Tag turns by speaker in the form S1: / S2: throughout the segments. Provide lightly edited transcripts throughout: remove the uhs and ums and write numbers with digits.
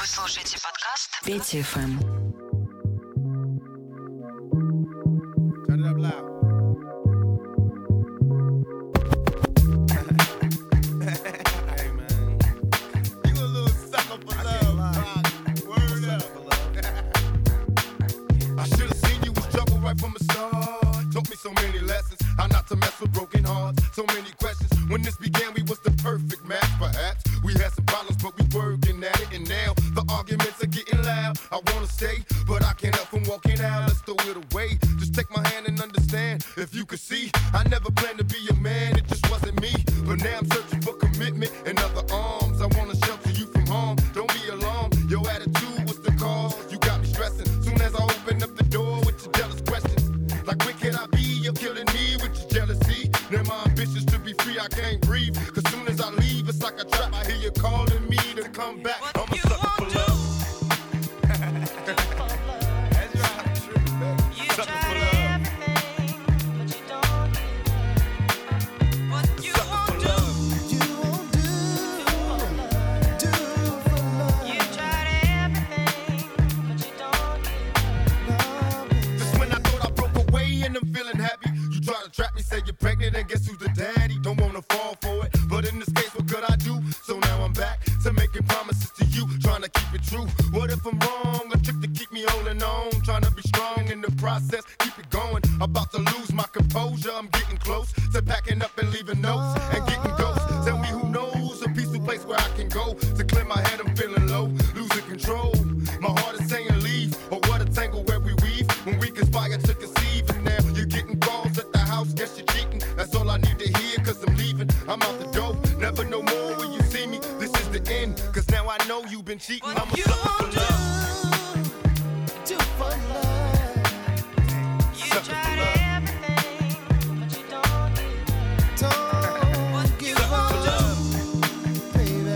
S1: Вы слушаете подкаст Петя ФМ.
S2: Turn it up loud. Hey man, you a little sucker for love. Word up. I should have seen you was trouble right from the start. Taught me so many lessons, how not to mess with broken hearts. So many questions. When this began, we was the perfect match. Perhaps we had some problems, but we working at it. And now the arguments are getting loud. I wanna stay, but I can't help from walking out. Let's throw it away. Just take my hand and understand. If you could see, I never planned to be a man. It just wasn't me. But now I'm searching for commitment and other arms. I wanna shelter you from harm. Don't be alarmed. Your attitude was the cause. You got me stressing. Soon as I open up the door with your jealous questions, like where can I be? You're killing me with your jealousy. Now my ambitions to be free, I can't breathe. Cause soon as I leave, it's like a trap. I hear you calling me to come back. I'm a sucker for love. That's right, true. Sucker for love. And I'm feeling happy. You try to trap me, say you're pregnant, and guess who's the daddy? Don't wanna fall for it, but in this case, what could I do? So now I'm back to making promises to you, trying to keep it true. What if I'm wrong? A trick to keep me holding on, trying to be strong in the process, keep it going. About to lose my composure, I'm getting close to packing up and leaving notes and getting ghosts. Tell me who knows a peaceful place where I can go to clear my head. I'm feeling low, losing control. My heart is saying leave, or what a tangle where we weave when we conspire to conceive. And now you're getting calls at the house, guess you're cheating. That's all I need to hear, cause I'm leaving. I'm out the door, never no more when you see me. This is the end, cause now I know you've been cheating. I'm a sucker for love.
S3: Do for love.
S2: You tried everything,
S3: but you don't give up, baby.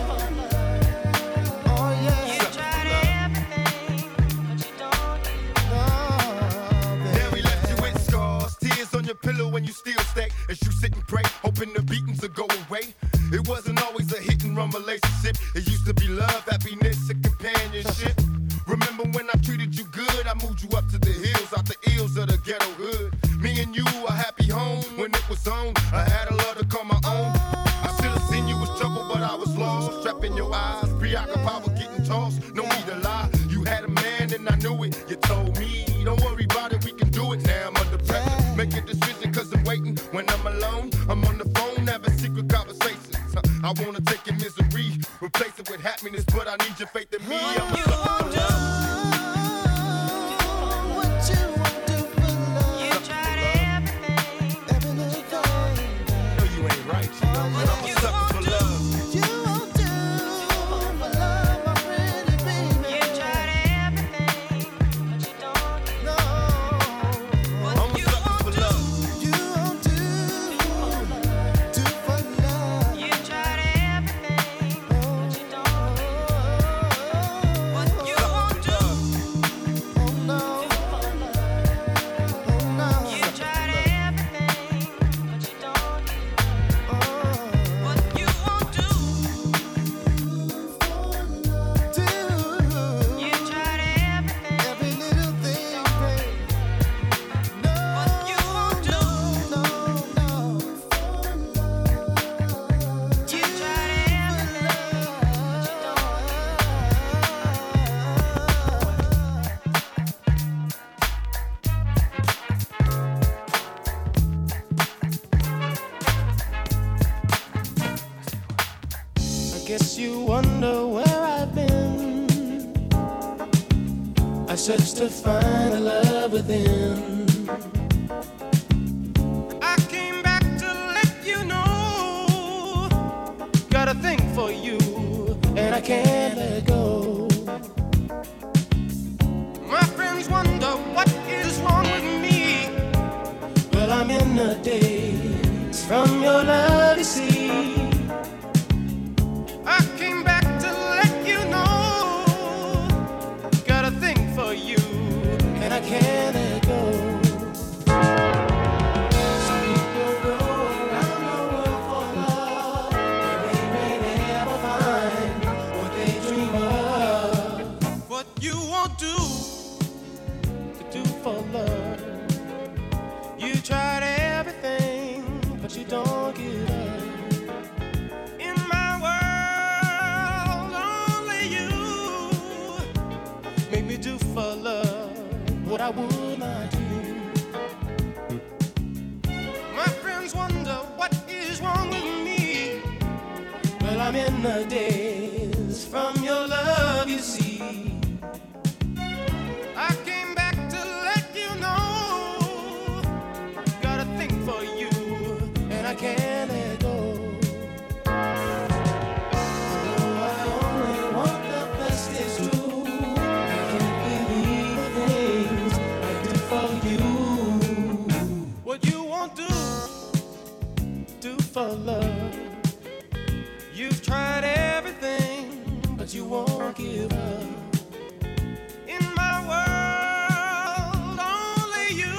S3: Oh yeah.
S2: You tried everything, but you don't Now we left you with scars, tears on your pillow when you still stay. As you sit and pray, hoping the beatings will go away. It wasn't always a hit and run relationship. It used to be love, happiness, and companionship. Remember when I treated you good? I moved you up to the hills, out the ills of the ghetto hood. Me and you, a happy home when it was on. I had a love to call my own. I should have seen you was trouble, but I was lost. Trapped in your eyes, preoccupied with getting tossed. No need to lie, you had a man and I knew it. You told me, don't worry about it, we can do it. Now I'm under pressure, make a decision cause I'm waiting. When I'm alone, I'm on the phone, having secret conversations. I wanna take your misery, replace it with happiness, but I need your faith in me. I'm a sucker for love.
S3: Guess you wonder where I've been. I searched to find the love within. I came back to let you know. Got a thing for you, and I can't let go. My friends wonder what is wrong with me. Well, I'm in a daze from your love, you see. I came back to let you know. Got a thing for you, and I can't let go. Some people go around the world for love, and they may never find what they dream of. won't do for love. You tried everything, but you don't give up. In my world, only you make me do for love what I would not do. My friends wonder what is wrong with me. Well, I'm in the daze from your love, you see. I came back to let you know, got a thing for you, and I can't let go. Oh, I only want the best, it's true. I can't believe the things I do for you. What you won't do for love. You've tried everything, but you won't give up. In my world, only you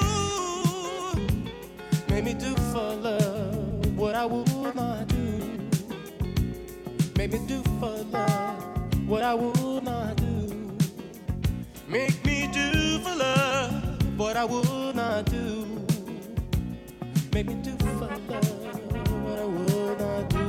S3: make me do for love what I would not do. Make me do for love what I would not do. Make me do for love what I would not do. Make me do for love what I would not do.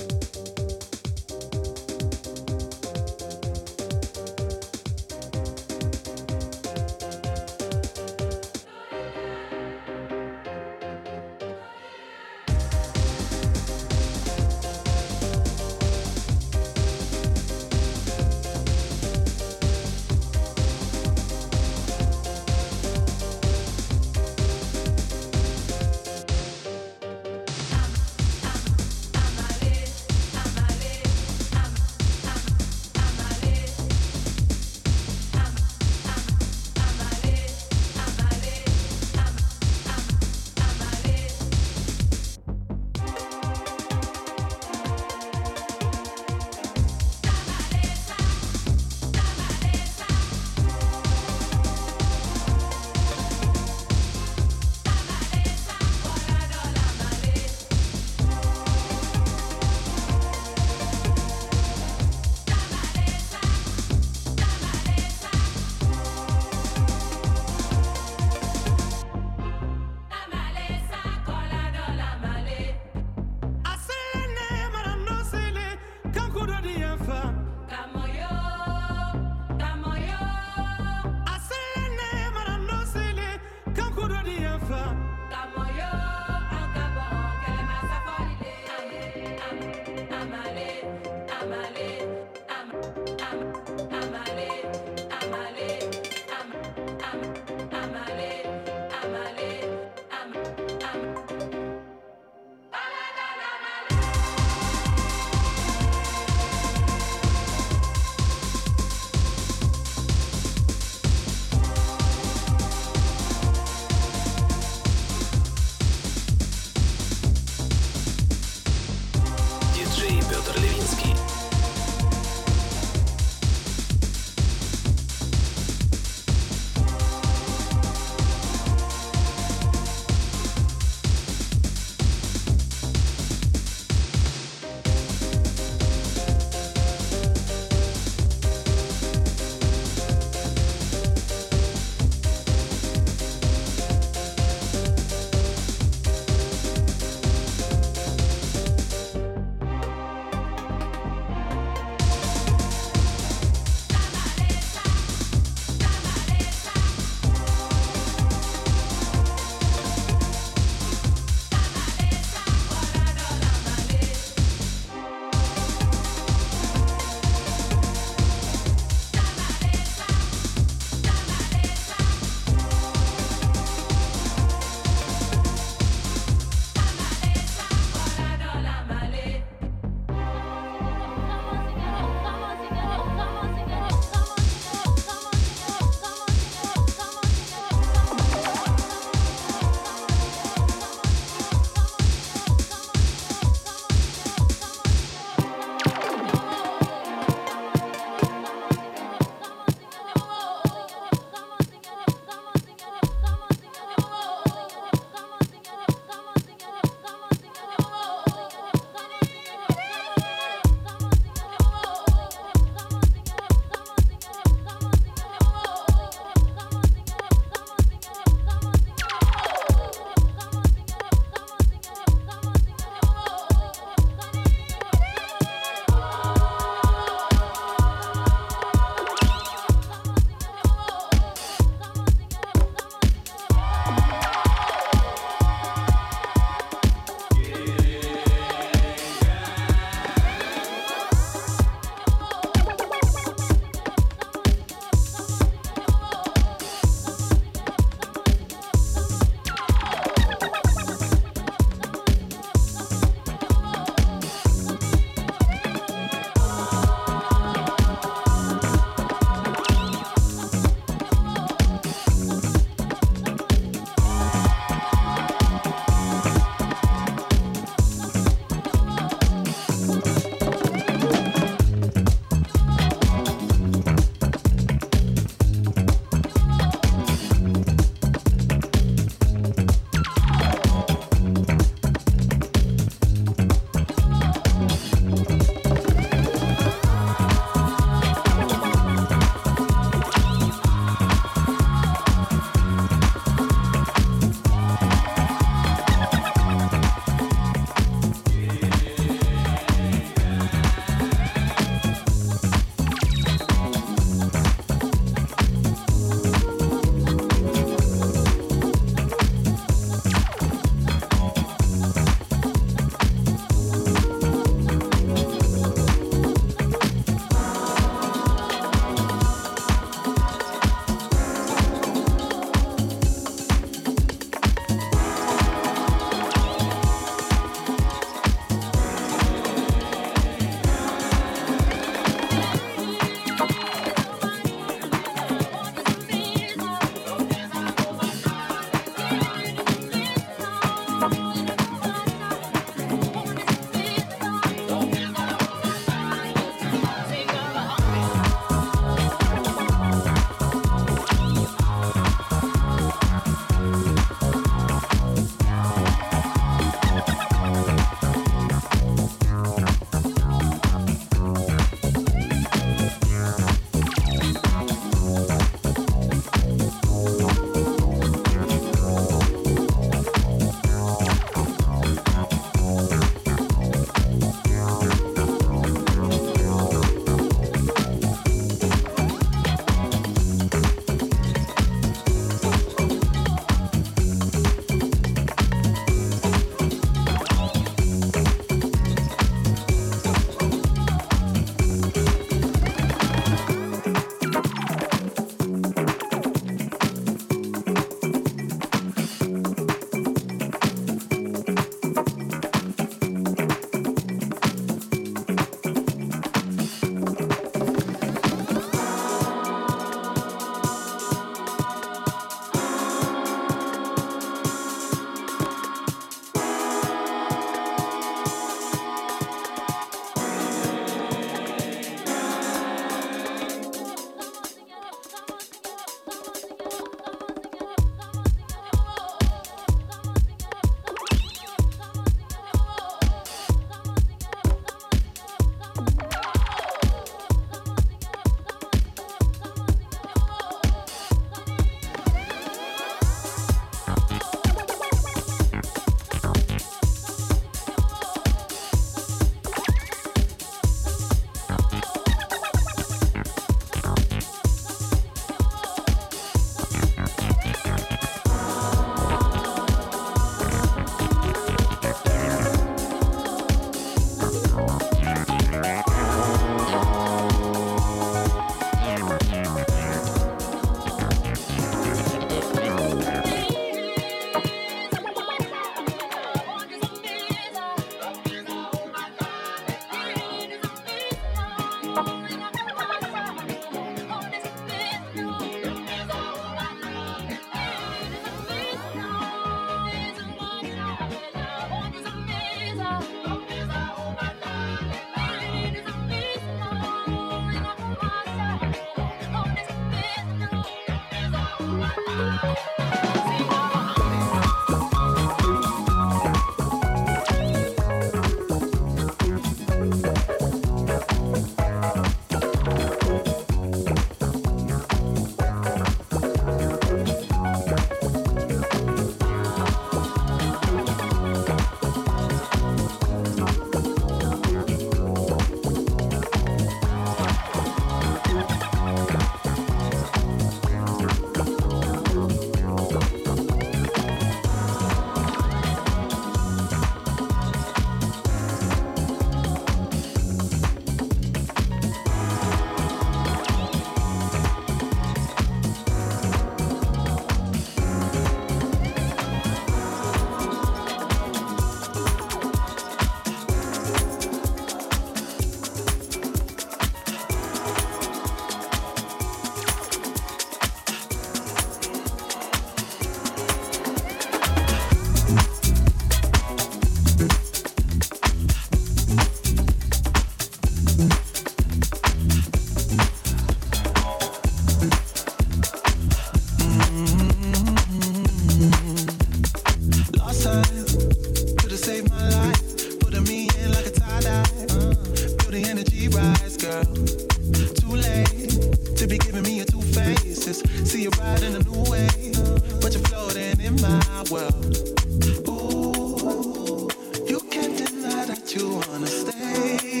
S4: you wanna stay.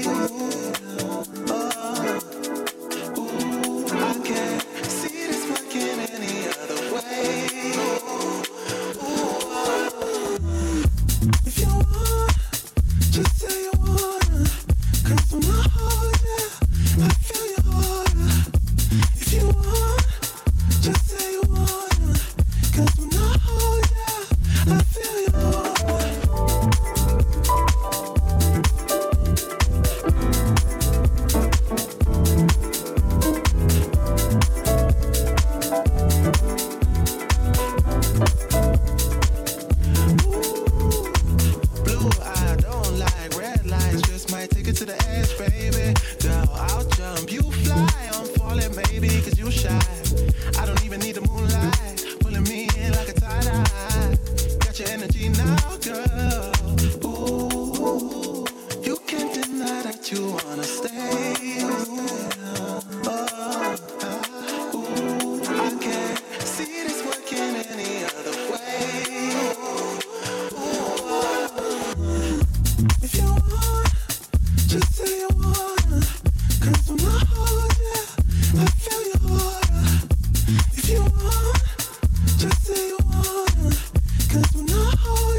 S4: I can't see this working any other way. If you want, just say you wanna. 'Cause when I hold you, I feel you harder. If you want, just say you wanna. 'Cause when I hold you, I feel you harder. Blue, I don't like red lights, just might take it to the edge, baby. Girl, I'll jump, you fly, I'm falling, maybe, 'cause you shy. I don't even need the moonlight, pulling me in like a tie-dye. Got your energy now, girl. Ooh, you can't deny that you wanna stay. I can't see this working any other way. If you want, just say you wanna. 'Cause when I hold you, I feel you harder. If you want, just say you wanna. 'Cause when I hold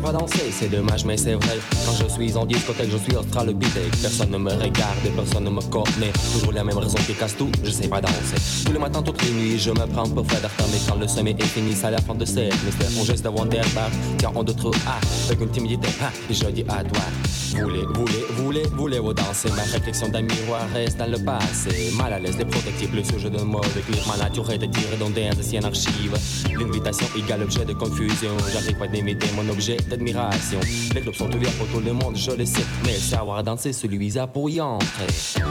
S5: pas danser, c'est dommage mais c'est vrai. Quand je suis en discothèque, je suis australopithèque. Personne ne me regarde, personne ne me connaît. Toujours la même raison qui casse tout, je sais pas danser. Tous les matins, toutes les nuits, je me prends pour Fred Astaire. Mais quand le sommet est fini, c'est à la fin de cette mystère. Mon geste de Wonderbar, tiens en d'autres avec une timidité, et je dis à toi. Voulez-vous danser? Ma réflexion d'un miroir reste dans le passé. Mal à l'aise, déprotectif, le sujet de mauvais clip. Ma nature est de tirer dans des anciennes archives. L'invitation égale objet de confusion. J'arrive pas d'imiter mon objet d'admiration. Les clubs sont ouverts pour tout le monde, je le sais. Mais savoir danser, celui à pour y entrer.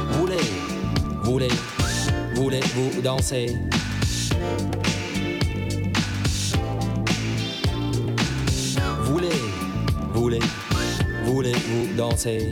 S5: Voulez-vous danser? Voulez-vous danser?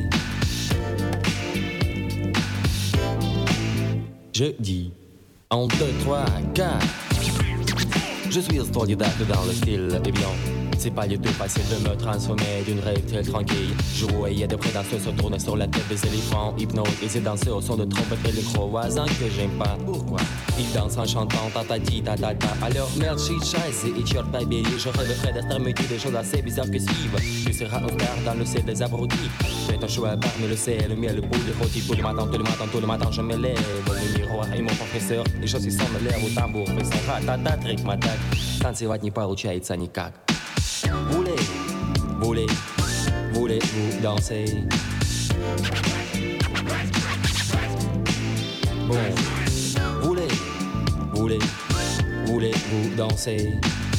S5: Je dis 1, 2, 3, 4. Je suis autodidacte dans le style évident. C'est pas du tout facile de me transformer d'une rêve très tranquille. Je voyais des prédateurs se tourner sur la tête des éléphants. Hypnotisés danser au son de trompette et les gros voisins que j'aime pas. Pourquoi? Ils dansent en chantant tatati tatata. Alors merde, shit, scheiße, it's your baby. Je rêverais d'être métier des choses assez bizarres que suivent. Tu seras un star dans le ciel des abrutis. Fais ton choix parmi le sel, le miel, le bout des rôtis. Tous les matins, je me lève. Le miroir et mon professeur, les choses qui sont me lèvent au tambour. Fais ça, ratata, trick, матак. Танцевать не получается никак. Voulez-vous danser? Bon, voulez-vous danser?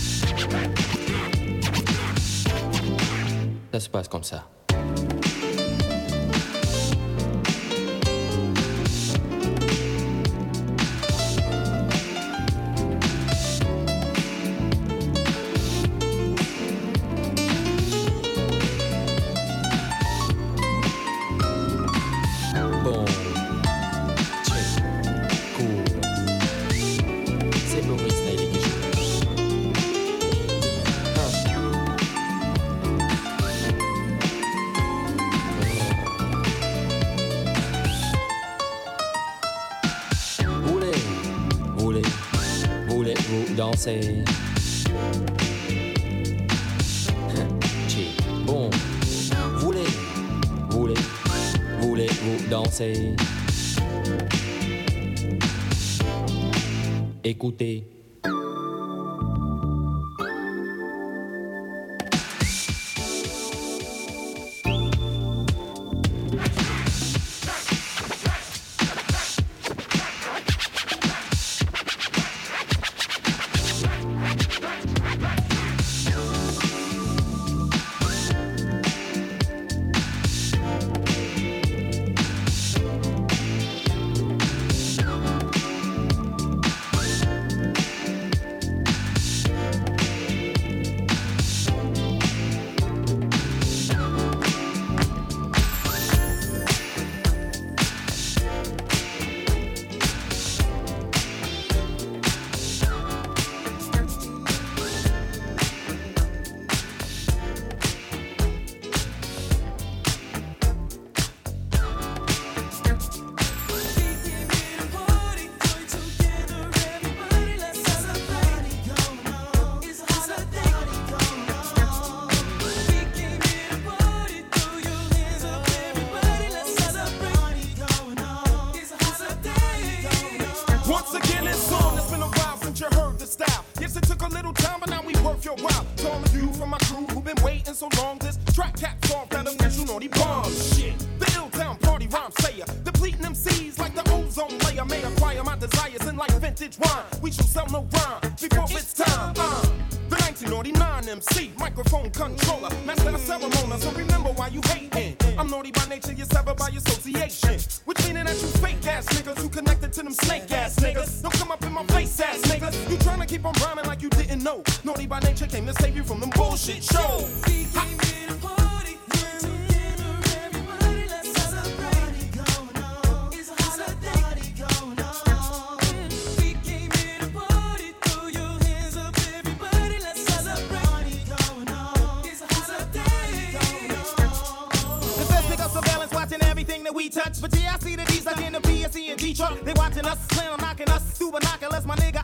S5: Ça se passe comme ça. Danser. Bon, voulez-vous danser? Écoutez.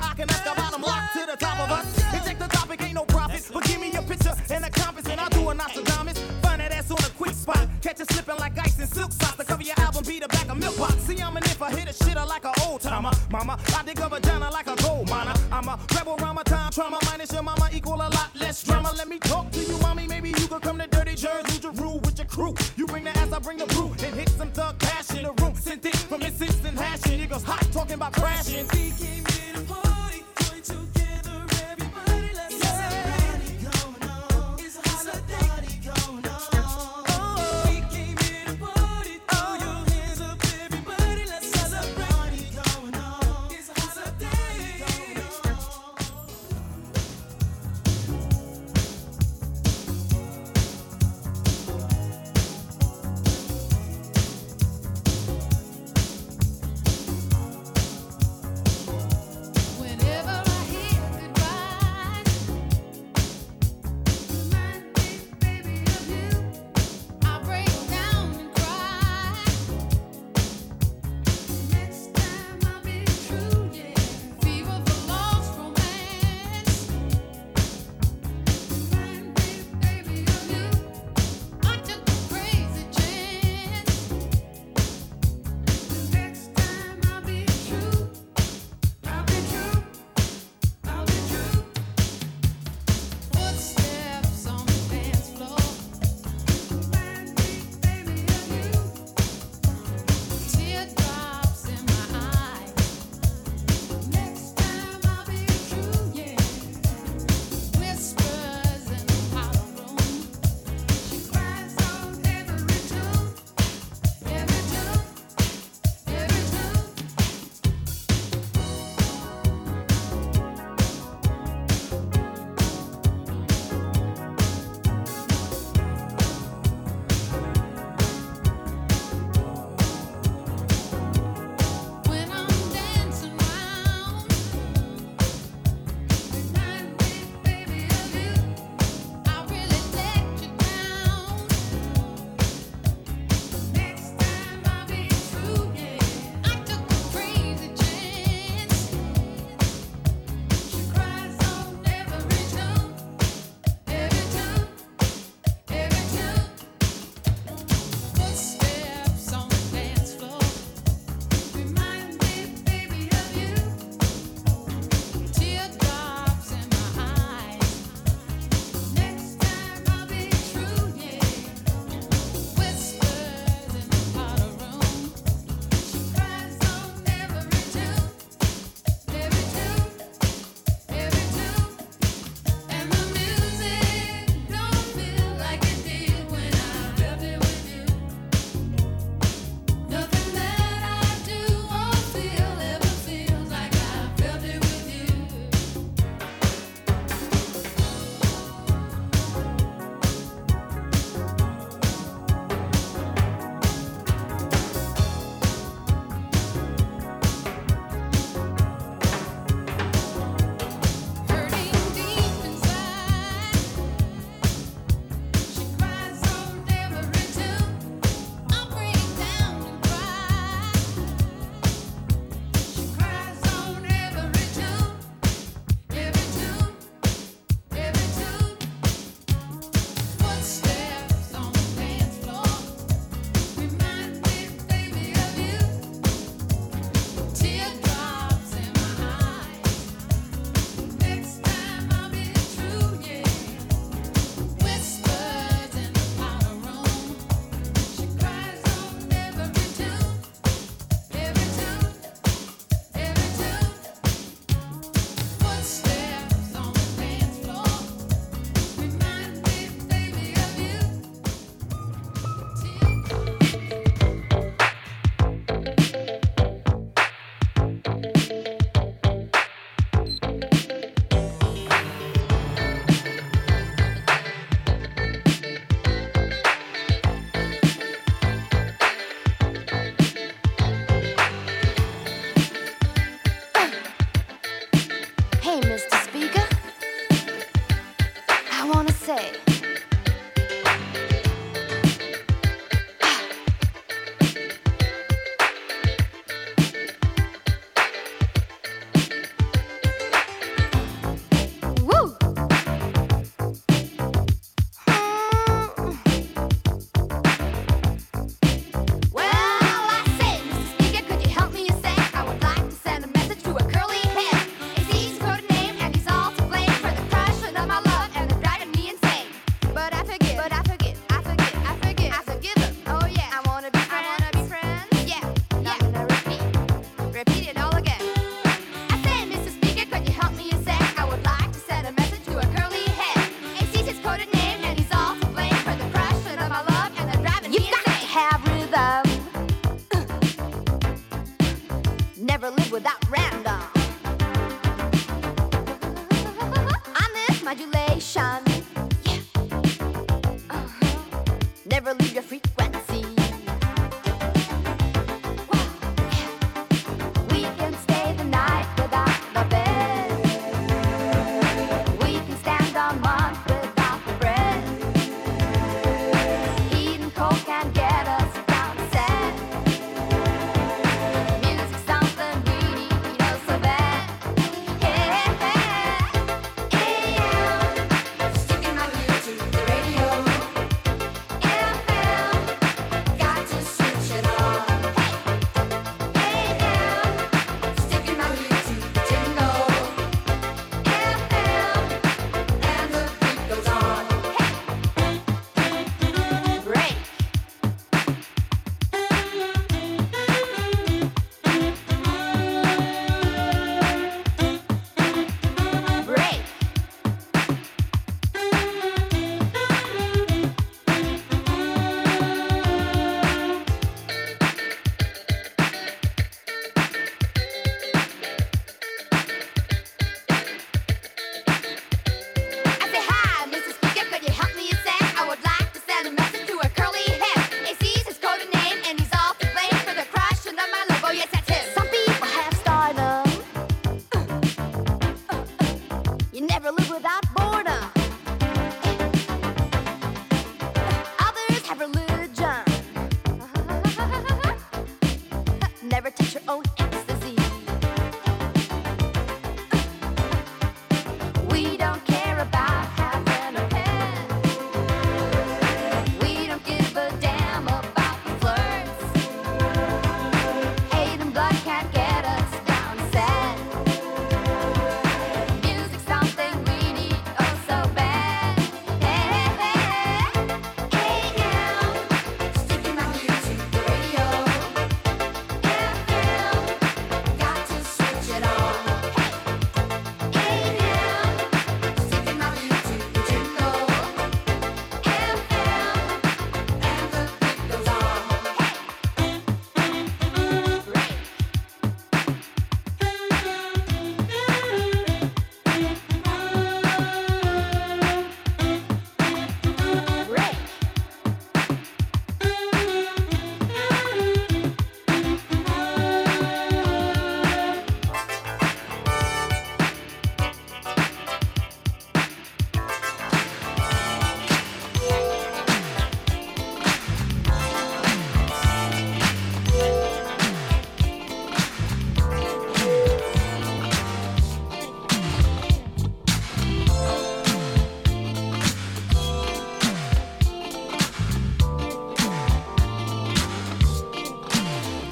S6: Not
S3: dripping like ice and silk socks. To cover your album, be the back of milk box. See, I'm an if I hit a shitter like an old timer. Mama, I dig a vagina like a gold miner. I'm a rebel rhymer, time trauma. Minus your mama equal a lot less drama. Let me talk to you, mommy. Maybe you could come to Dirty Jersey, do your rule with your crew. You bring the ass, I bring the brew. And hit some thug cash in the room. Sent it from insistent hashing. Niggas hot talking about crashing.
S6: We came here to party, join together, everybody. Let's party going on. It's a party going on. We came here to party, throw your hands up, everybody. Let's celebrate. Party going on. It's a holiday going on.
S7: Whenever I hear goodbye, remind me, baby, of you. I break down and cry. Next time I'll be true, yeah. Fever for lost romance. Remind me, baby, of you. I took a crazy chance. Next time I'll be true. I'll be true, I'll be true. Footsteps on the dance floor. Remind me, baby, of you. Teardrops in my eyes. Next time I'll be true, yeah. Whispers in the hollow room. She cries on every tune, every tune, every tune. When I'm dancing round, remind me, baby, of you. I really let you down. Next time I'll be true, yeah. I took a crazy chance. She cries on every tune, every tune, every tune. Footsteps on the dance floor. Remind me, baby, of you. Teardrops in my eyes. Next time I'll be true, yeah. Whispers in the hollow room. She cries on every tune, every tune, every tune. And the music don't feel like it did when I felt it with you. Nothing that I do or feel ever feels like I felt it with you. Hurting deep inside, she cries on every tune. I break down and cry. She cries on every tune, every tune, every tune. Footsteps on the dance floor. Remind me, baby, of you. Teardrops in my eyes. Next time I'll be true, yeah. Whispers in the powder room. She cries on every tune, every tune, every tune. Footsteps on the dance floor. Remind me, baby, of you.
S8: Hey, Mr. Speaker, I want to say, woo!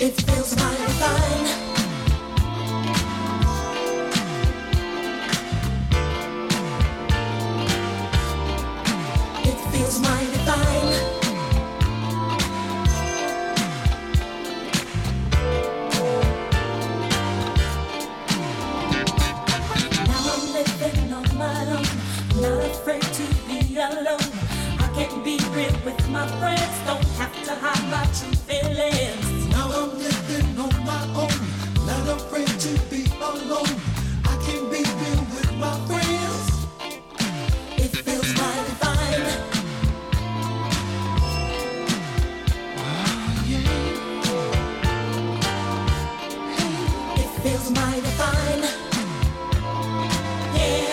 S6: It feels mighty fine. It feels mighty fine. Now I'm living on my own, not afraid to be alone. I can be real with my friends, don't have to hide my true feelings.
S3: Now I'm living on my own, not afraid to be alone. I can be real with my friends.
S6: It feels mighty fine. It feels mighty fine. Yeah.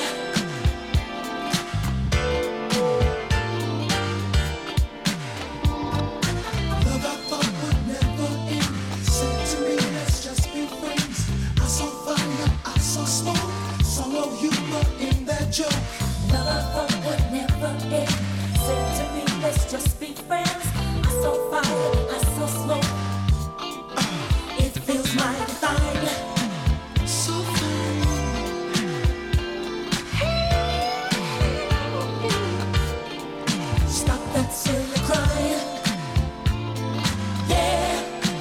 S3: Love I thought would never end. Said to me, let's just be friends. I saw fire, I saw smoke, saw humor in that joke.
S6: Love I thought would never end. Said to me, let's just be friends. I saw fire, I saw smoke. It feels mighty fine.
S3: So fine.
S6: Stop that silly crying. Yeah.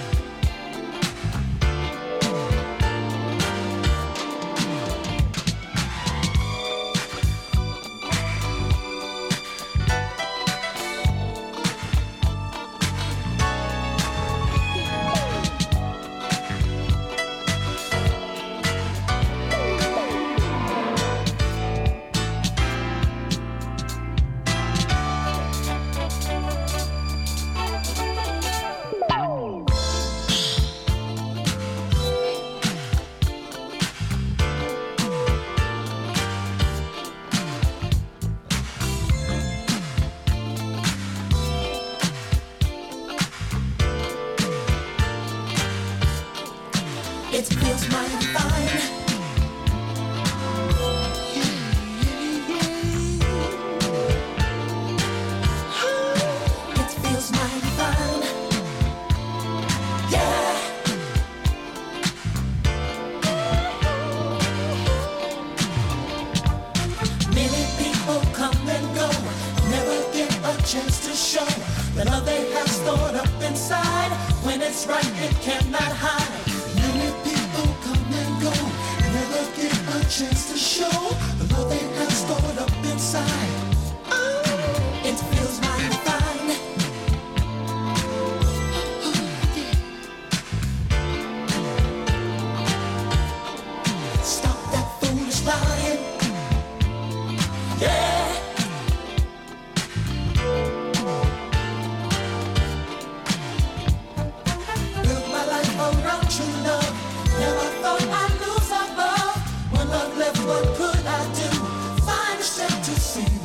S6: It feels mighty fine. It feels mighty fine. Yeah. Many people come and go, never get a chance to show the love they have stored up inside. When it's right, it cannot hide.
S3: Many people come and go, never get a chance to show the love they have stored up inside.
S6: It feels mighty fine. Stop that foolish lying. Yeah. Build my life around true love. Never thought I'd lose our love. When love left, what could I do? Find a strength to see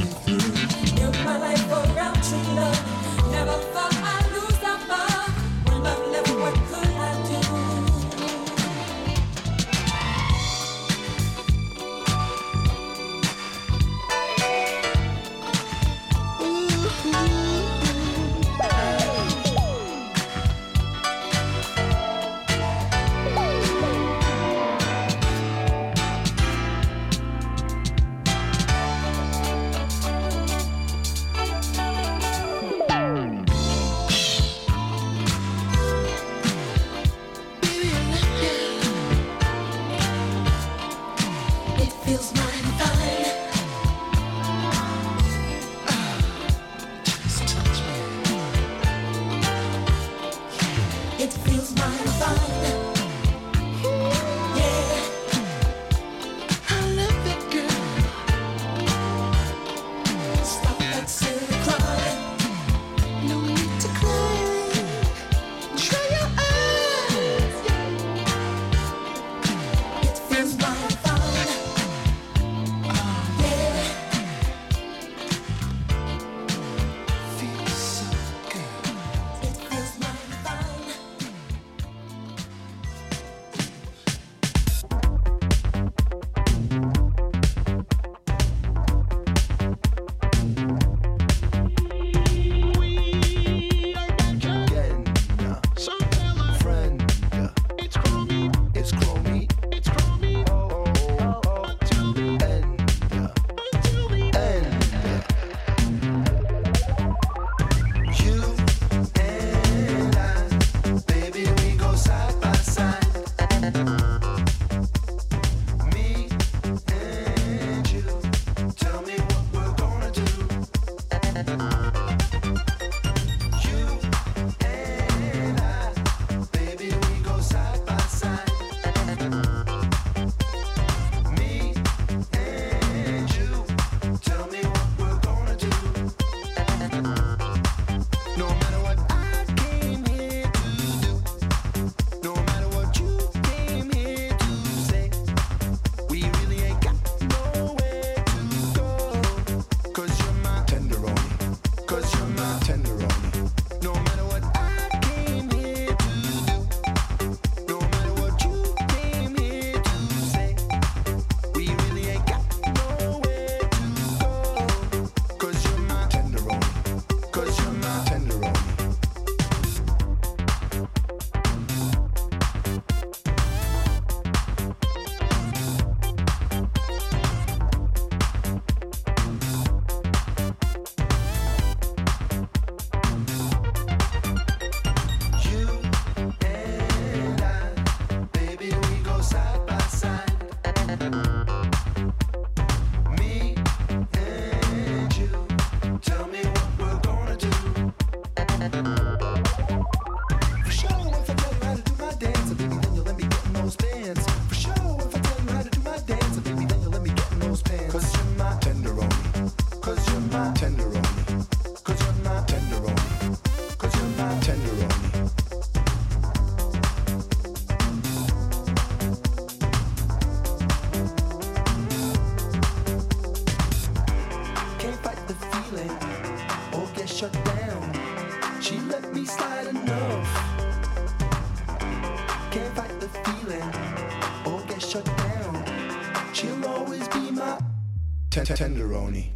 S4: Tenderoni.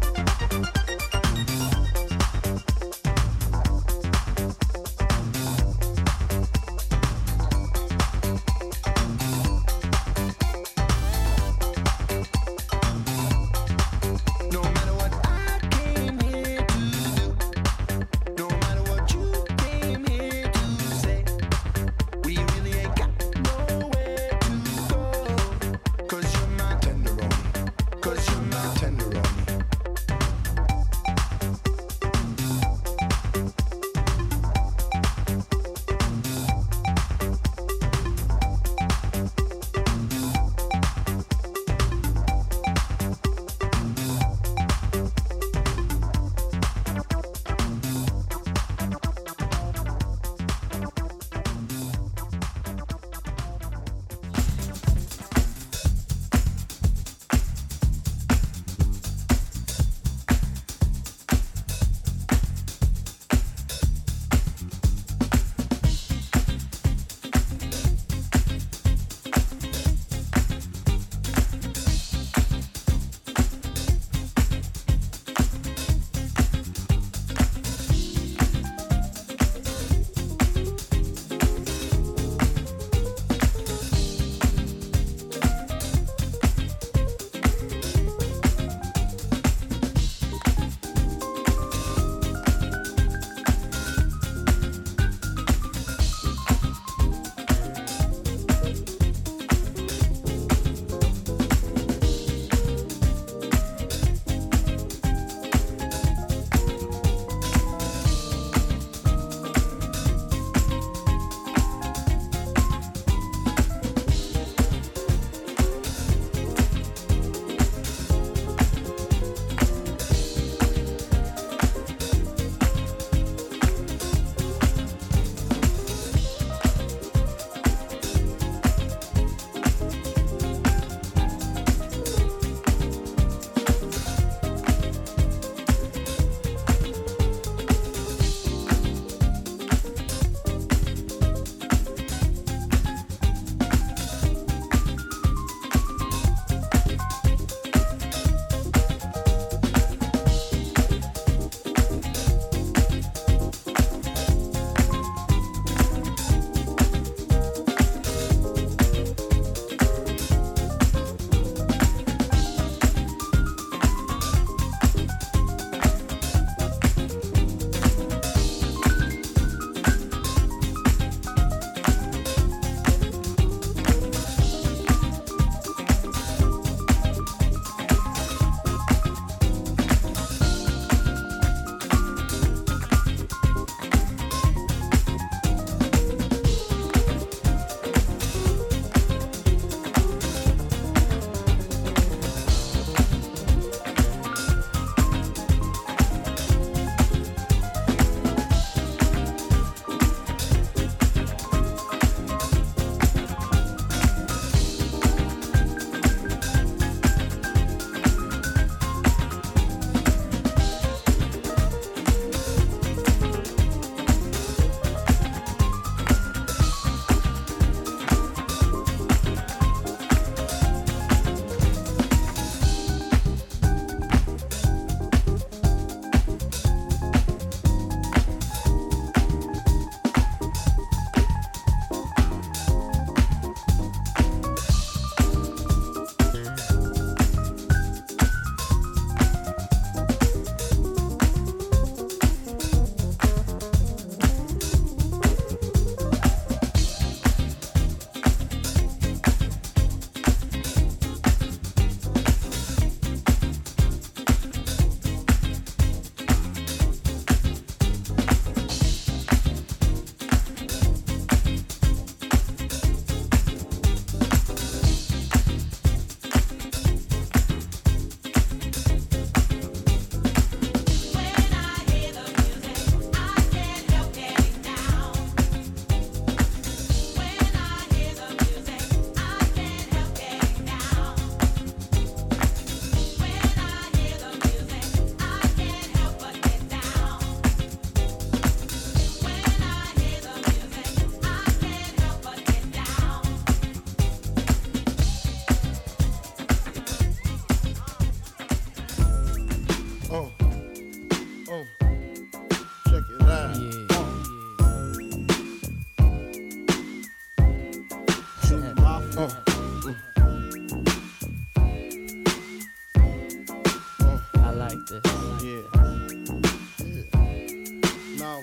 S4: No matter what I came here to do, no matter what you came here to say, we really ain't got nowhere to go. 'Cause you're my tenderoni, 'cause you're my tenderoni.
S9: it out.
S3: I like this.
S9: Now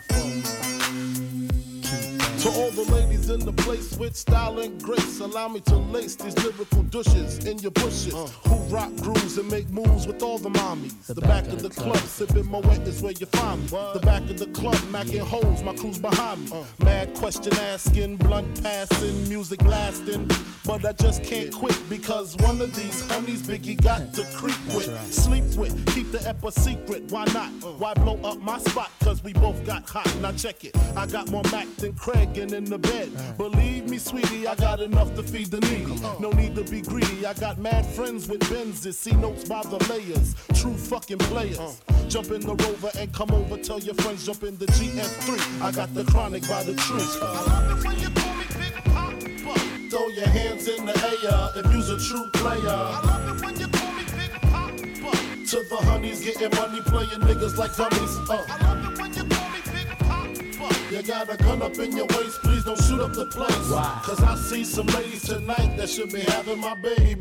S9: to all the ladies in the place with style and grace, allow me to lace these lyrical douches in your bushes who rock grooves and make moves with all the mommies. The back of the club, sipping Moet is where you find me. The back of the club, macking holes, my crew's behind me. Mad question asking, blunt passing, music blasting. But I just can't quit because one of these honeys Biggie got to creep with, sleep with, keep the ep a secret. Why not? Why blow up my spot? Cause we both got hot. Now check it. I got more Mac than Craig and in the bed. Believe me, sweetie, I got enough to feed the needy. No need to be greedy. I got mad friends with Benzes. See notes by the layers. True fucking players. Jump in the Rover and come over. Tell your friends jump in the GS3. I got the chronic by the tree. I love it when you call me Big Papa. Throw your hands in the air if you's a true player. I love it when you call me Big Papa. To the honeys getting money, playing niggas like dummies. I love it when you call me Big Papa. You got a gun up in your waist, please don't shoot up the place. Why? Cause I see some ladies tonight that should be having my baby.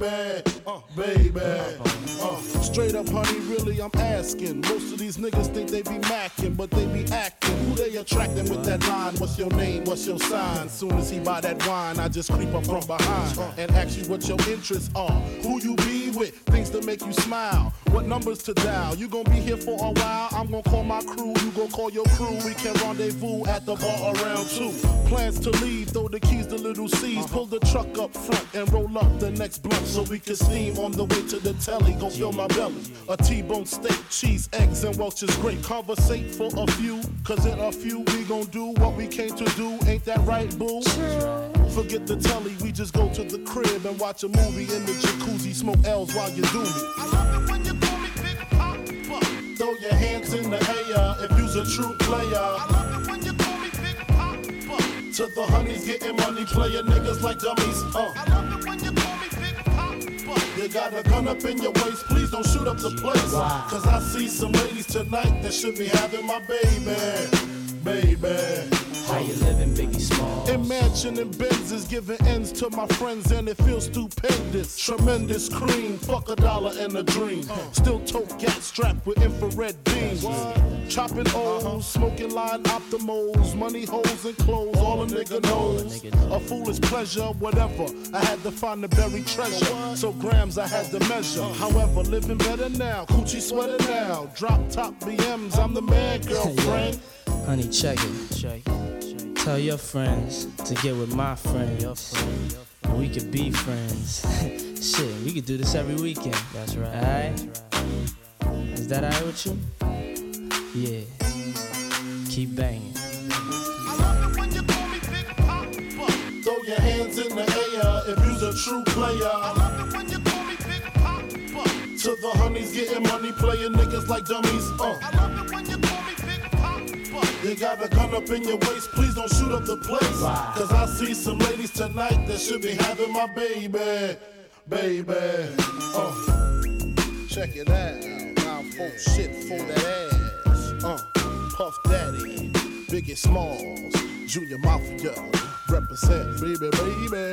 S9: Straight up, honey, really, I'm asking. Most of these niggas think they be macking, but they be acting. Who they attracting with that line? What's your name? What's your sign? Soon as he buy that wine, I just creep up from behind and ask you what your interests are. Who you be with? Things to make you smile. What numbers to dial? You gon' be here for a while. I'm gon' call my crew. You gon' call your crew. We can rendezvous at the bar around 2. Plans to leave, throw the keys to little C's. Pull the truck up front and roll up the next blunt so we can steam on the way to the telly. Go fill my belly. A T-bone steak, cheese, eggs, and Welch's grape. Conversate for a few, cause in a few we gon' do what we came to do. Ain't that right, boo? Forget the telly, we just go to the crib and watch a movie in the jacuzzi. Smoke L's while you do me. I love it when you call me Big Papa. Throw your hands in the air if you's a true player. I love it when you call me Big Papa. To the honeys getting money, playing niggas like dummies. I love it when you call me Big Papa. You got a gun up in your waist, please don't shoot up the place. Cause I see some ladies tonight that should be having my baby.
S3: How you living, Biggie Smalls?
S9: Imagining Benzes giving ends to my friends and it feels stupendous. Tremendous cream, fuck $1 and a dream. Still tote gat strapped with infrared beams. Chopping O's, smoking line optimals, money holes and clothes, all a nigga knows. A foolish pleasure, whatever. I had to find the buried treasure, so grams I had to measure. However, living better now, coochie sweater now. Drop top BMs, I'm the man, girlfriend.
S3: Honey, check it. Tell your friends to get with my friends. We could be friends. Shit, we could do this every weekend. That's right. Alright? Is that alright with you? Yeah. Keep banging.
S9: I love it when you call me Big Papa. Throw your hands in the air if you's a true player. I love it when you call me Big Papa. To the honeys getting money, playing niggas like dummies. I love it when you call me Big Papa. You got a gun up in your waist, please don't shoot up the place. Cause I see some ladies tonight that should be having my baby. Check it out. Now full shit for that ass. Puff Daddy, Biggie Smalls, Junior Mafia, represent, baby.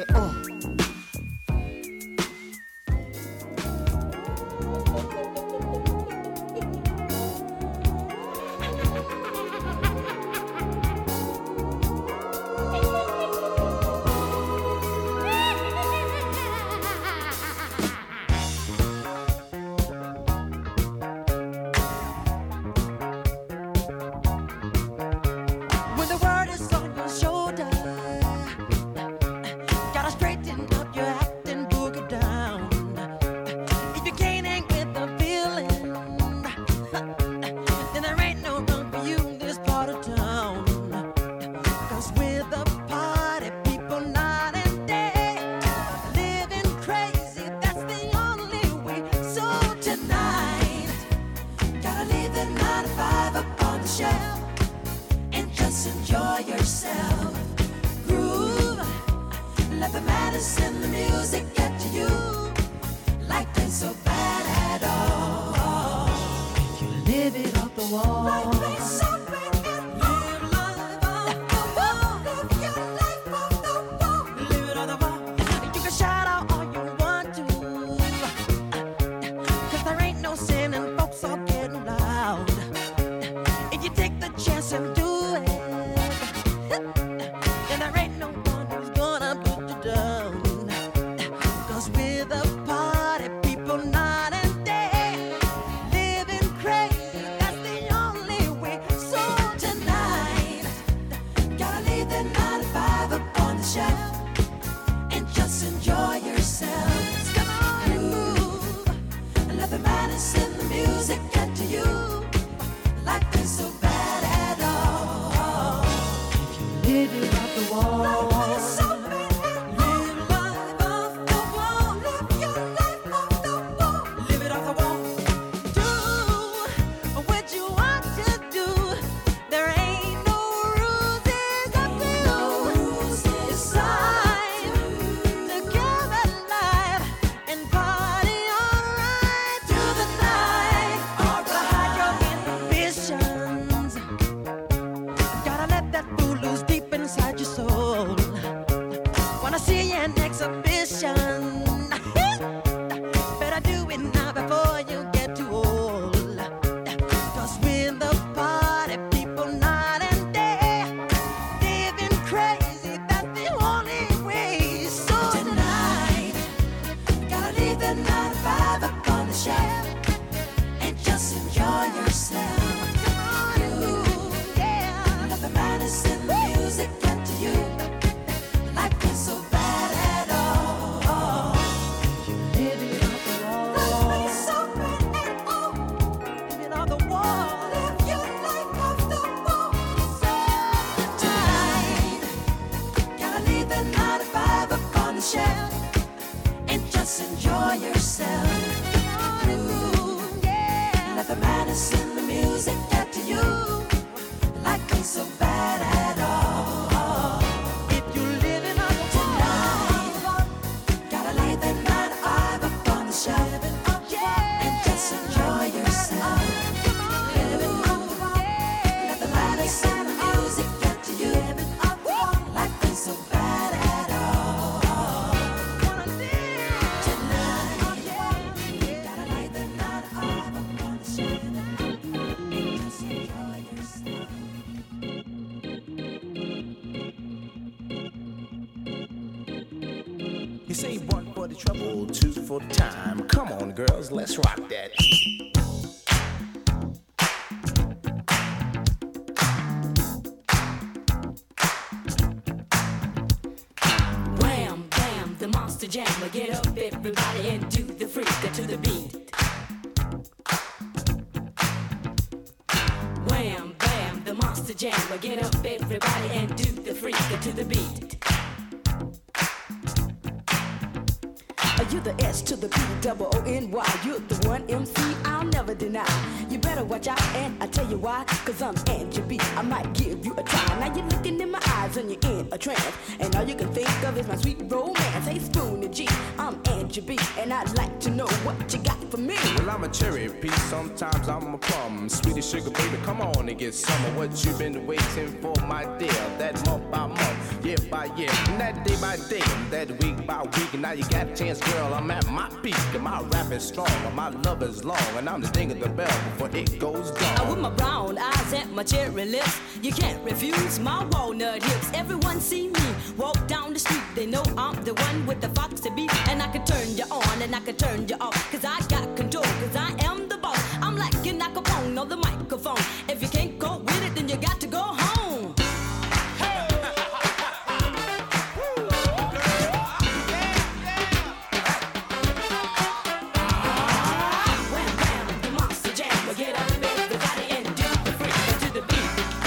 S6: When the world is on your shoulder, gotta straighten up your act and boogie down. If you can't hang with the feeling, then there ain't no room for you in this part of town. Cause we're the party people night and day, living crazy, that's the only way. So tonight, gotta leave the 9 to 5 up on the shelf and just enjoy yourself. Groove, let the madness in the music get to you. Life ain't so bad at all. You live it off the wall. Life ain't so bad at all.
S10: say one for the trouble, two for the time. Come on, girls, let's rock that.
S11: Wham, bam, the monster jammer. Get up, everybody, and do the freak to the beat. Wham, bam, the monster jammer. Get up, everybody, and do the freak to the beat.
S12: You the S to the P-double-O-N-Y. You're the one MC I'll never deny. You better watch out, and I tell you why. Cause I'm Angie B. I might give you a try. Now you're looking in my eyes and you're in a trance. And all you can think of is my sweet romance. Hey, Spoonie G, I'm Angie B. And I'd like to know what you got for me.
S10: Well, I'm a cherry piece, sometimes I'm a plum. Sweetie sugar baby, come on and get some of what you've been waiting for, my dear. That month by month, year by year, and that day by day, and that week by week. And now you got a chance, girl, I'm at my peak. And my rap is strong, and my love is long. And I'm the ding of the bell before it goes down.
S11: With my brown eyes and my cherry lips, you can't refuse my walnut hips. Everyone see me walk down the street, they know I'm the one with the foxy beat. And I can turn you on and I can turn you off, cause I got control, cause I am the boss. I'm like an acapone on the microphone. If you can't go with it, then you got to go home. Wham, bam, the monster jam. Get up, everybody, and do the freak to the beat.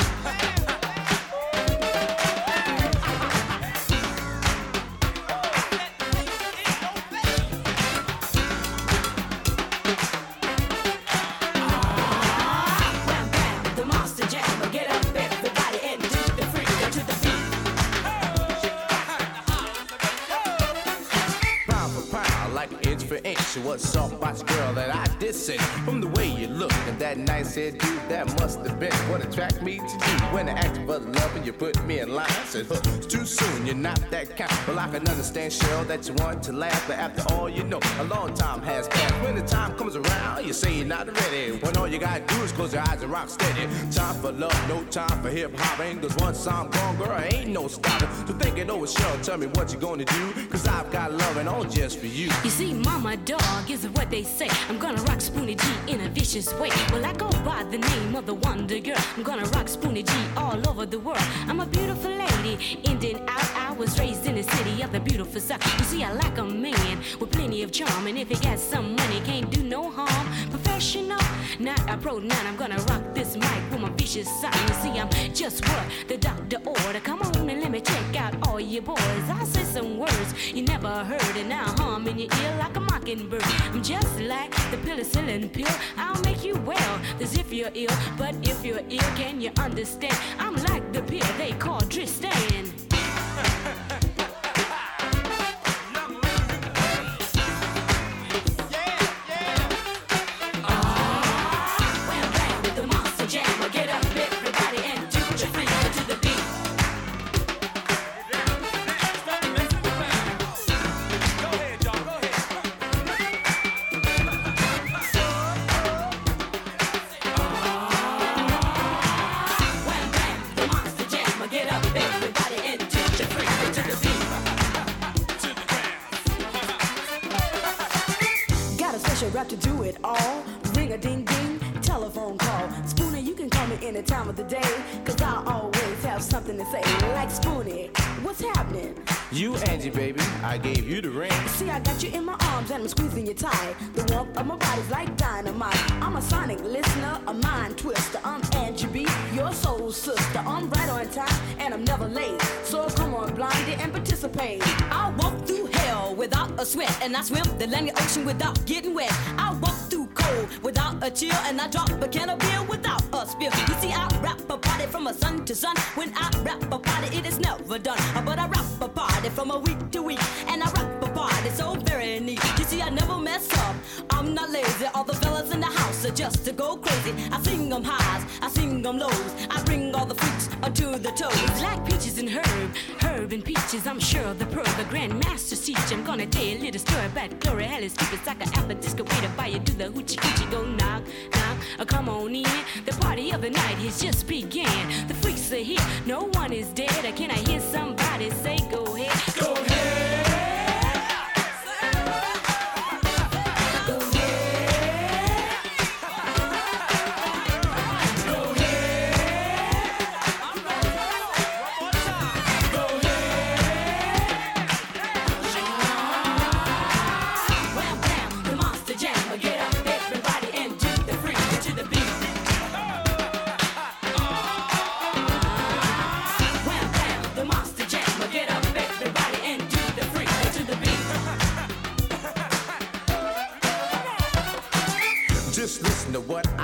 S10: What's up, watch girl that I did say. From the way you look and that nice hairdo, that must have been what attracted me to you. When I asked for love and you put me in line, I said, huh, it's too soon, you're not that kind. Well, I can understand, Cheryl, that you want to laugh, but after all, you know, a long time has passed. When the time comes around, you say you're not ready. When all you gotta do is close your eyes and rock steady. Time for love, no time for hip-hop. Ain't cause once I'm gone, girl, ain't no stopping. So think it over, Cheryl, tell me what you gonna do, cause I've got love and all just for you.
S11: You see, mama dog is what they say. I'm gonna rock Spoonie G in a vicious way. Well, I go by the name of the Wonder Girl. I'm gonna rock Spoonie G all over the world. I'm a beautiful lady, in and out. I was raised in the city of the beautiful South. You see, I like a man with plenty of charm, and if he got some money, can't do no harm. Professional, not a pro, not. I'm gonna rock this mic with my vicious side. You see, I'm just what the doctor ordered. Come on and let me check out all you boys. I say some words you never heard, and now hum in your ear like a mockingbird. I'm just like the penicillin pill. I'll make you well as if you're ill, but if you're ill, can you understand? I'm like the pill they call Tristan.
S12: Rap to do it all. Ring a ding ding, telephone call. Spoonie, you can call me any time of the day, cause I always have something to say. Like Spoonie, what's happening?
S10: You, Angie, baby, I gave you the ring.
S12: See, I got you in my arms and I'm squeezing you tight. The warmth of my body's like dynamite. I'm a sonic listener, a mind twister. I'm Angie B, your soul sister. I'm right on time and I'm never late. So come on, blondie, and participate.
S11: I walk through hell without a sweat, and I swim the Atlantic Ocean without getting wet. I walk through cold without a chill, and I drop a can of beer without a spill. You see, I rap a party from a sun to sun. When I rap a party, it is never done. But I rap a party from a week to week, and I rap a party so very neat. You see, I never mess up, I'm not lazy. All the fellas in the house are just to go crazy. I sing them highs, I sing them lows. I bring all the freaks to the toes. Like peaches and herb and peaches. I'm sure the pearl, the grandmaster's teach. I'm gonna tell you a little story about Gloria Helly's stupid like an apple disco way to buy you do the hoochie coochie. Go knock, knock, come on in. The party of the night has just began. The freaks are here, no one is dead. Can I hear somebody say go ahead? Go ahead.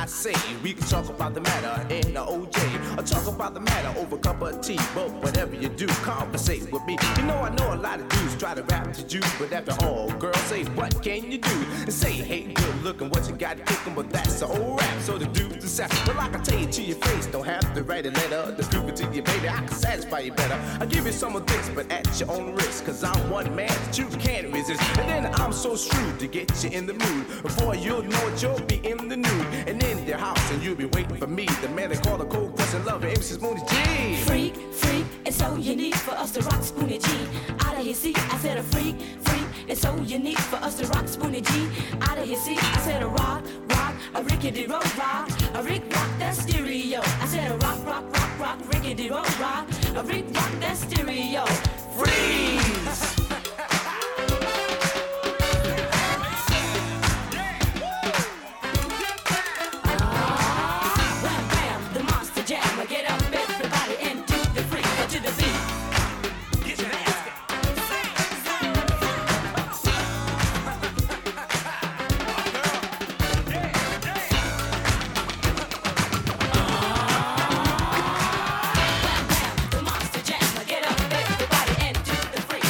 S10: I say we can talk about the matter in the OJ, or talk about the matter over a cup of tea. But whatever you do, conversate with me. You know I know a lot of dudes try to rap to you, but after all, girls say what can you do? And say hey, good looking, what you got kicking, but that's the old rap. So the dudes decide. Well, I can tell you to your face, don't have to write a letter to prove it to you, baby. I can satisfy you better. I'll give you some of this, but at your own risk, cause I'm one man that you can't resist. And then I'm so shrewd to get you in the mood. Before you'll know it, you'll be in the nude and in their house, and you'll be waiting for me. The man they call a cold pressing lover, MC Spoonie G.
S11: Freak, freak, it's so unique for us to rock Spoonie G. Out of his seat, I said a freak, freak, it's so unique for us to rock Spoonie G. Out of his seat, I said a rock, rock, a rickety road rock, a Rick rock that stereo. I said a rock, rock, rock, rock, rickety road rock, a Rick rock that stereo. Freeze!
S7: Get up, everybody, and do the freak.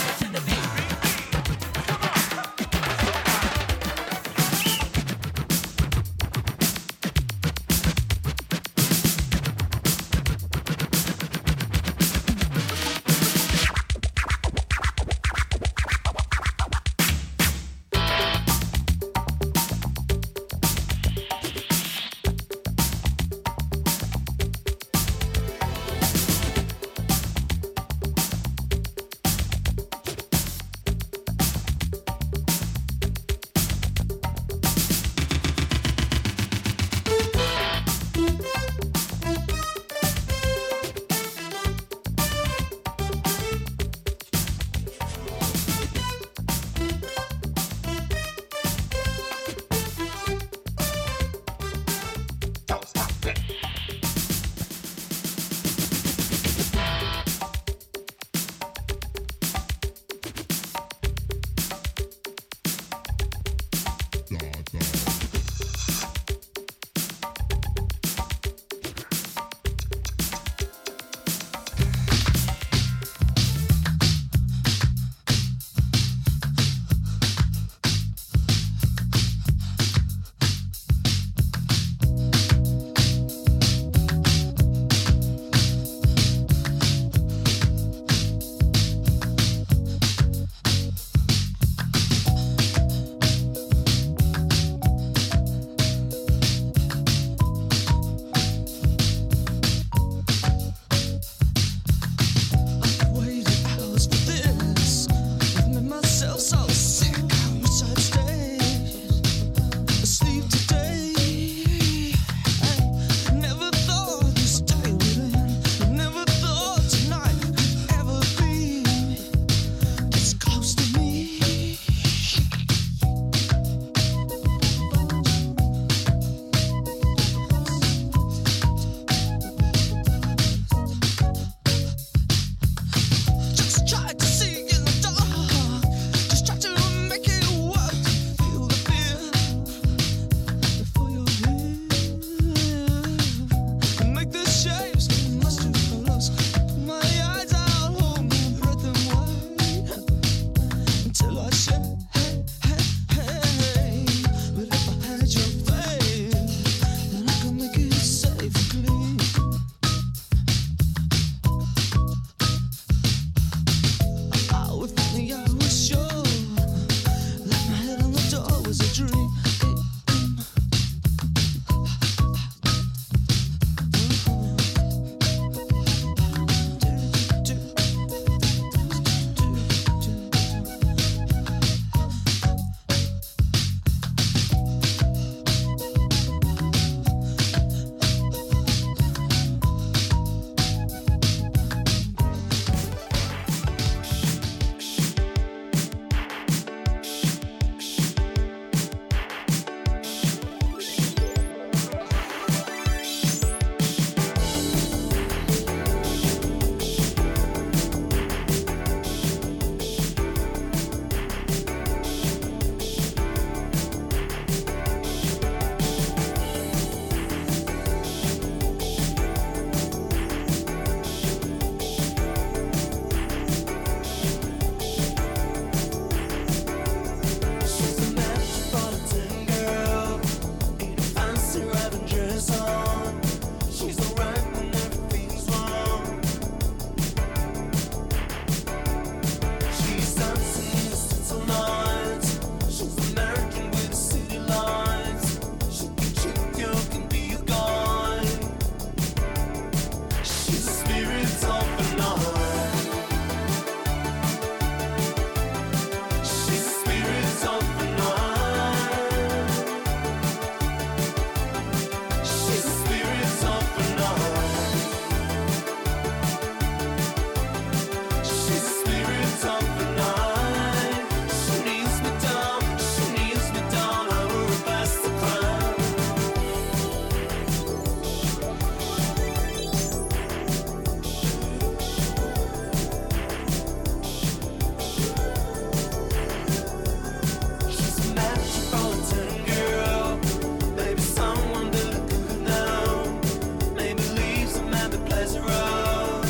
S3: eyes are round.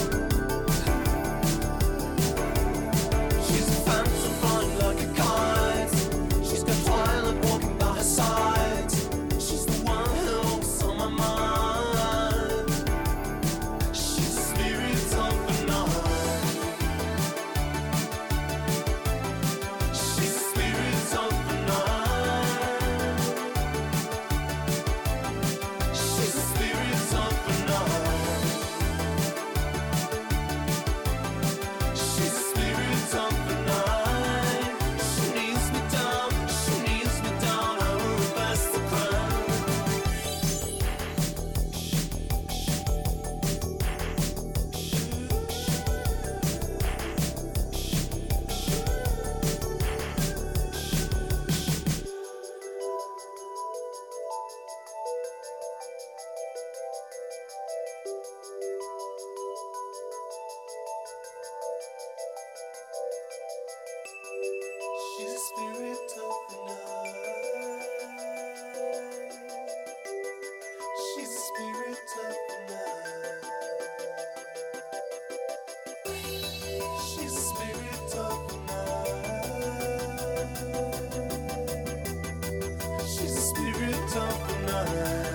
S3: She's a phantom flying like a kite. She's got twilight walking by her side. She's the one who's on my mind. She's a spirit of the night. She's a spirit of the night. She's a spirit of the night. She's a spirit of the night. She needs me down, I will pass the crown. She's a spirit of the night. She's a spirit of the night. She's a spirit of the night. She's a spirit of the night.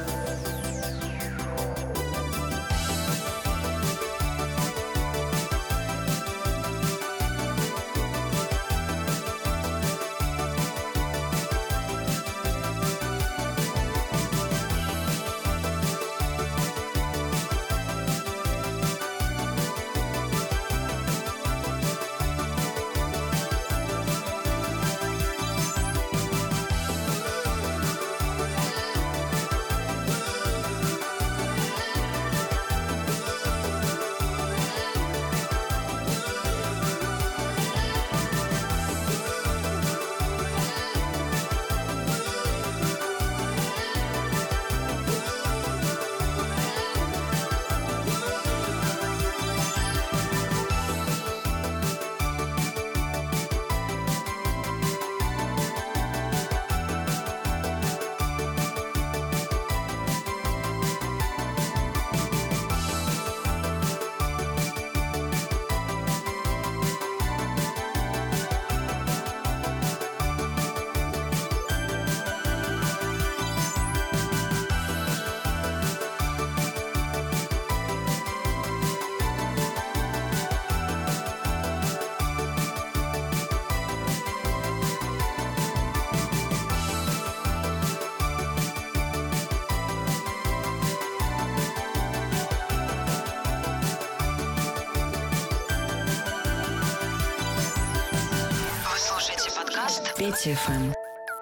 S1: Вы слушаете подкаст Петя ФМ.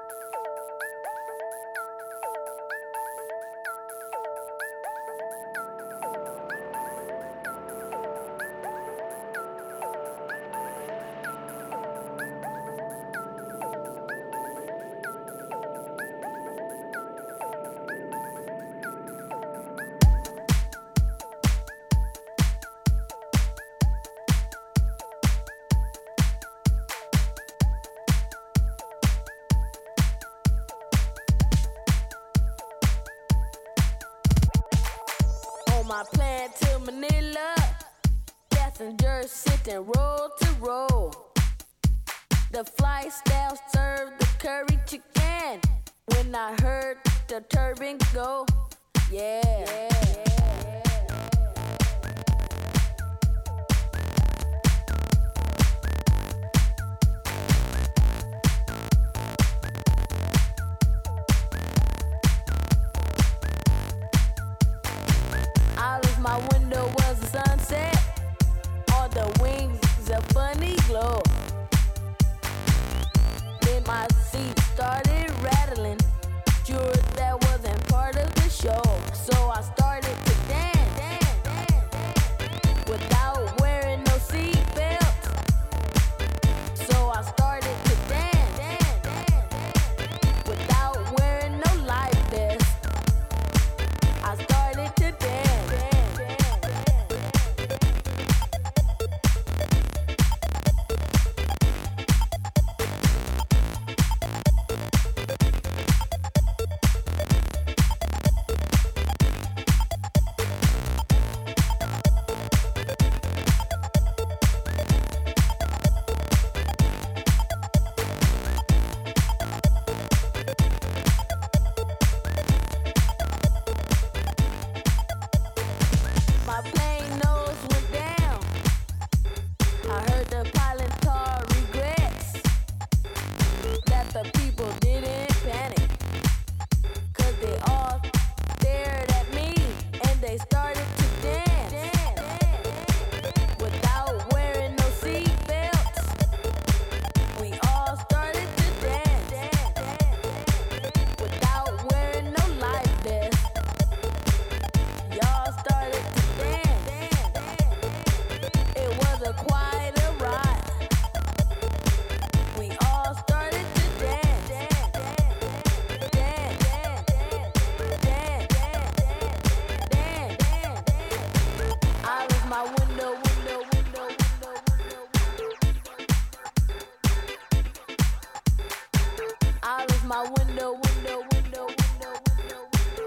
S12: On my plane to Manila, passengers sitting row to row. The flight staff served the curry chicken. When I heard the turban go, yeah. Out of my window was the sunset. On the wings, a funny glow. Then my seat started rattling. Sure, that wasn't part of the show. So I started to dance without wearing no seatbelt. So I started to dance without wearing no life vest. I started to dance.
S8: my window, window, window, window, window. Out of my window, window, window, window, window.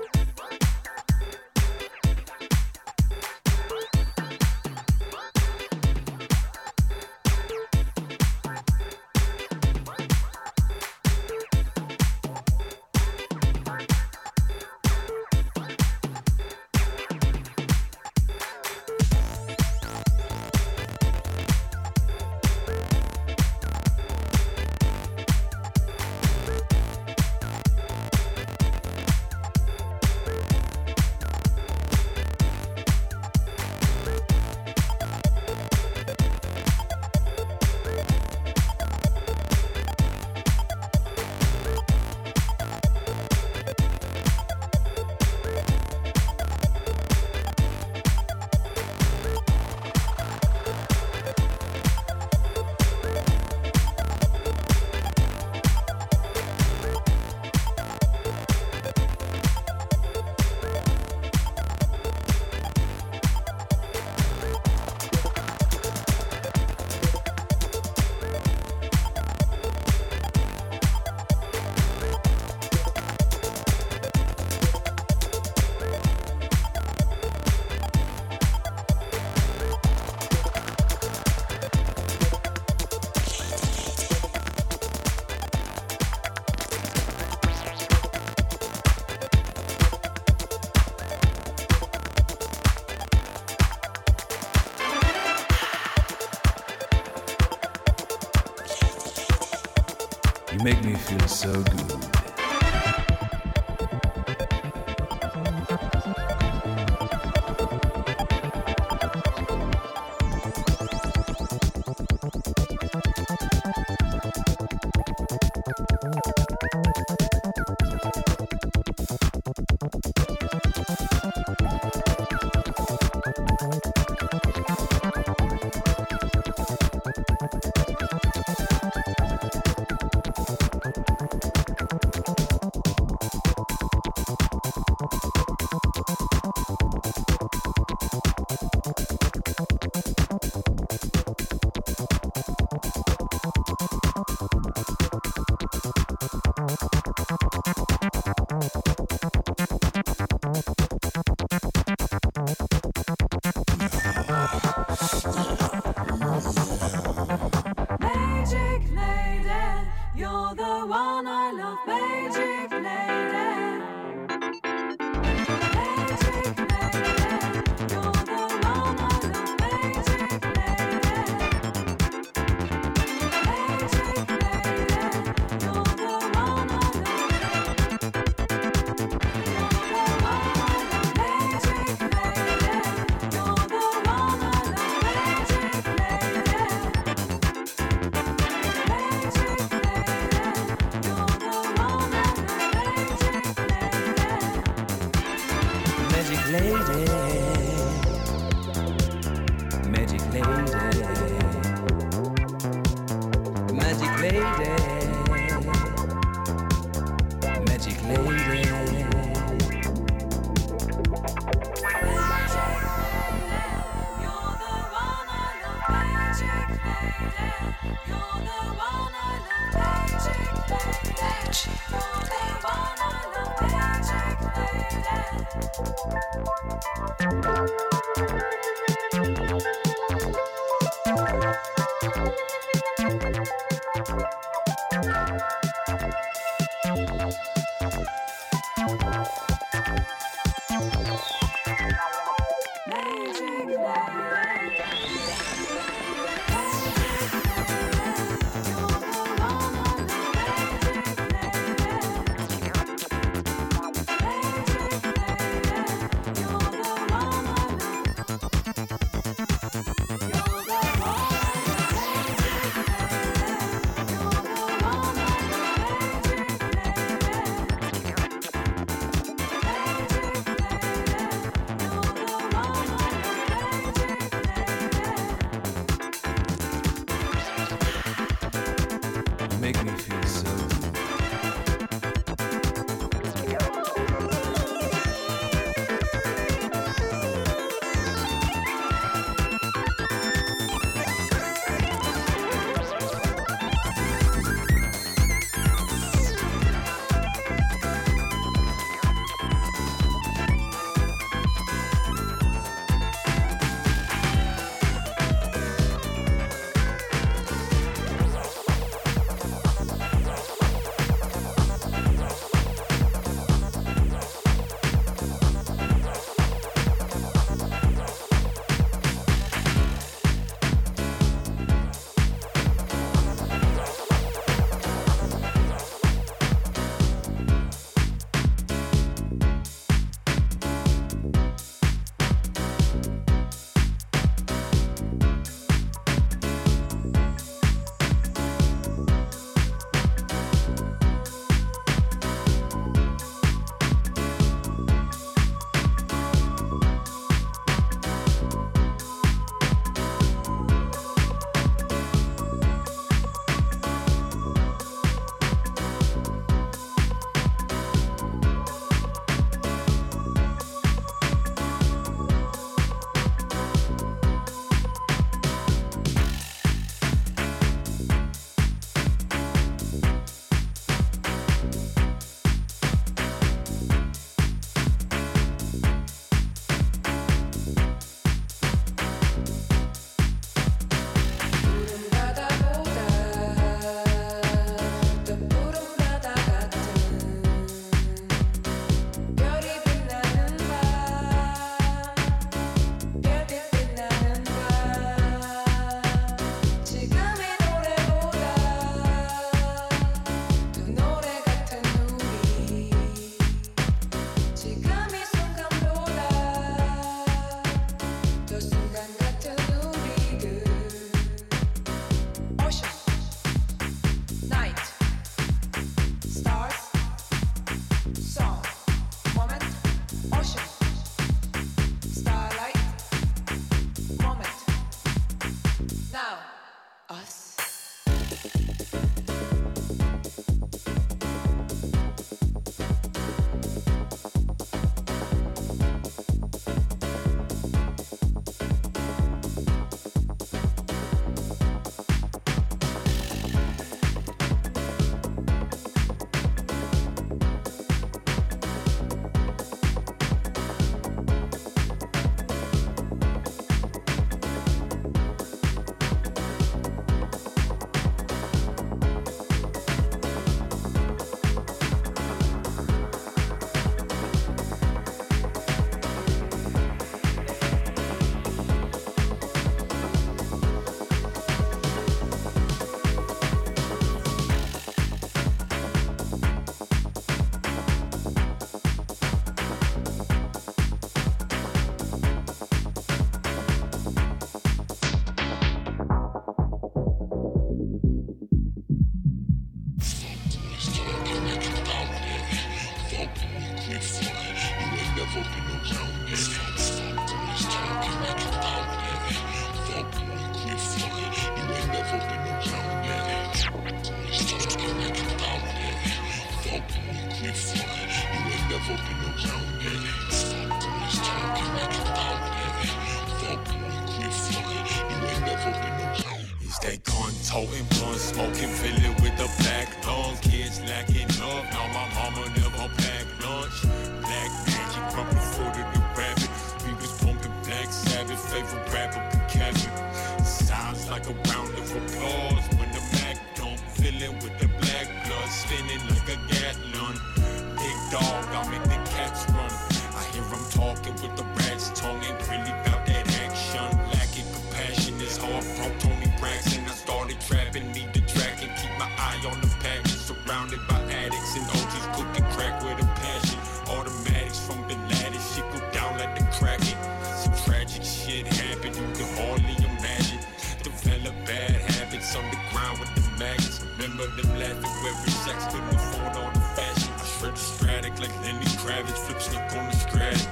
S13: You make me feel so good.
S6: Magic lady, you're the one I love. Magic lady. Magic lady, you're the one I love. Magic lady. Magic lady, you're the one I love.
S13: Magic lady, magic lady, magic lady, magic lady. Magic
S14: us.
S15: Stay gun toting, blunt smoking, fill it with the black lung. Kids lacking up, now my mama never packed lunch. Black magic, pumping foot of the rabbit. We was pumping Black Sabbath, favorite rapper, Kevin. Sounds like a round of applause when the Mac dump, filling with the black blood, spinning like a Gatlin. Big dog, I make the cats run. I hear them talking with the rat's tongue, ain't really about that action. Lacking compassion is hard, broke Tony Braxton. I started trapping, need the track and keep my eye on the package. Surrounded by addicts and OGs cooking crack with a passion. Automatics from Bin Laden, shit go down like the Kraken. Some tragic shit happened, you can hardly imagine. Develop bad habits underground with the maggots. Remember them laughing wearing sex, couldn't afford all the fashion. I shred the Stratic like Lenny Kravitz, flip snook on the Stratic.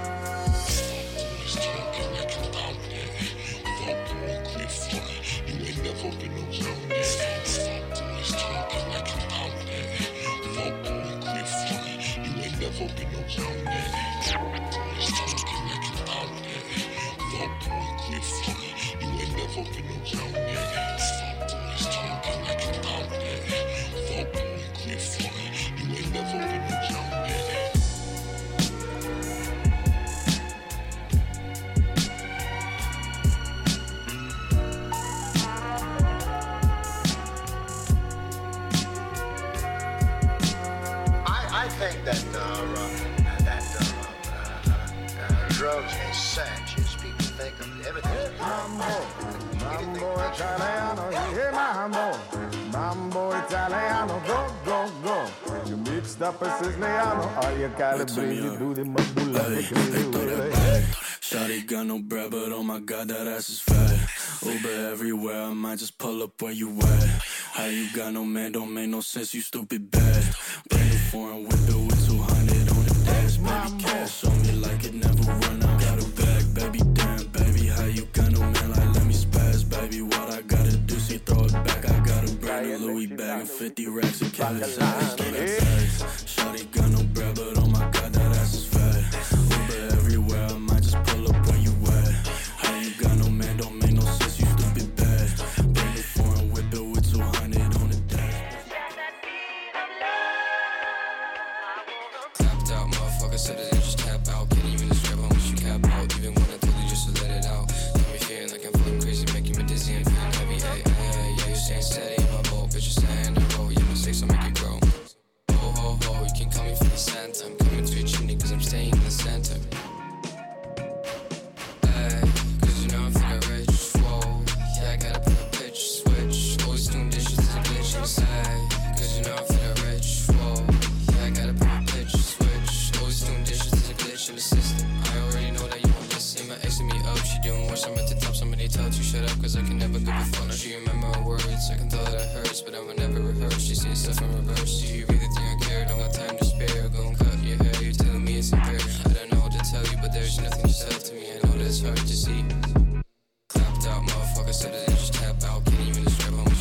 S16: I think that drugs and sex, as people think of everything.
S17: Mambo Italiano, yeah, mambo Italiano, go. You mixed up a Siciliano, all you calibrate, you do the mambula.
S18: Shawty got no bread, but oh my god, that ass is fat. Uber everywhere, I might just pull up where you at. How you got no man, don't make no sense, you stupid bad. Brand new foreign whip it with 200 on the dash. Baby, cash on me like it never run out. Got a bag, baby, damn, baby, how you got no man, like let me spaz, baby. What I gotta do, see, throw it back. I got a brand new Louis bag and 50 racks of cash. Shawty got no bread, but oh my god, that ass is fat. Uber everywhere, I might just pull up where you at. How you got no man, don't make no sense, you stupid bad. Brand new foreign whip it with 200 on the dash.
S19: Tapped out, motherfucker said that they just tap out. Can't even describe how much you cap out. Even when I told you just to let it out. Got me feeling like I'm fucking crazy, making me dizzy and feeling heavy. Hey, yeah, you staying steady in my boat, bitch, you staying in the road. Yeah, mistakes will make you grow. Ho, you can call me for the Santa. I'm coming to your chimney cause I'm staying in the center. Hey, cause you know I'm feeling rich, whoa. Yeah, I gotta put a pitch, switch. Always doing dishes to the glitch inside. Cause you know I'm feeling rich, whoa. Yeah, I gotta put a pitch, switch. Always doing dishes to the glitch in the system. I already know that you want to see my ex me up. She doing worse, I'm at the top. Somebody tell her to shut up cause I can never give a fuck. Now she remember her words, I can tell that it hurts, but I will never rehearse. She seeing stuff in reverse. Do you really think I care? Don't got time to spare. Go and cut your hair, you're telling me it's unfair. I don't know what to tell you, but there's nothing you said to me. I know that it's hard to see. Clapped out, motherfucker said that they just tap out. Can't even describe how much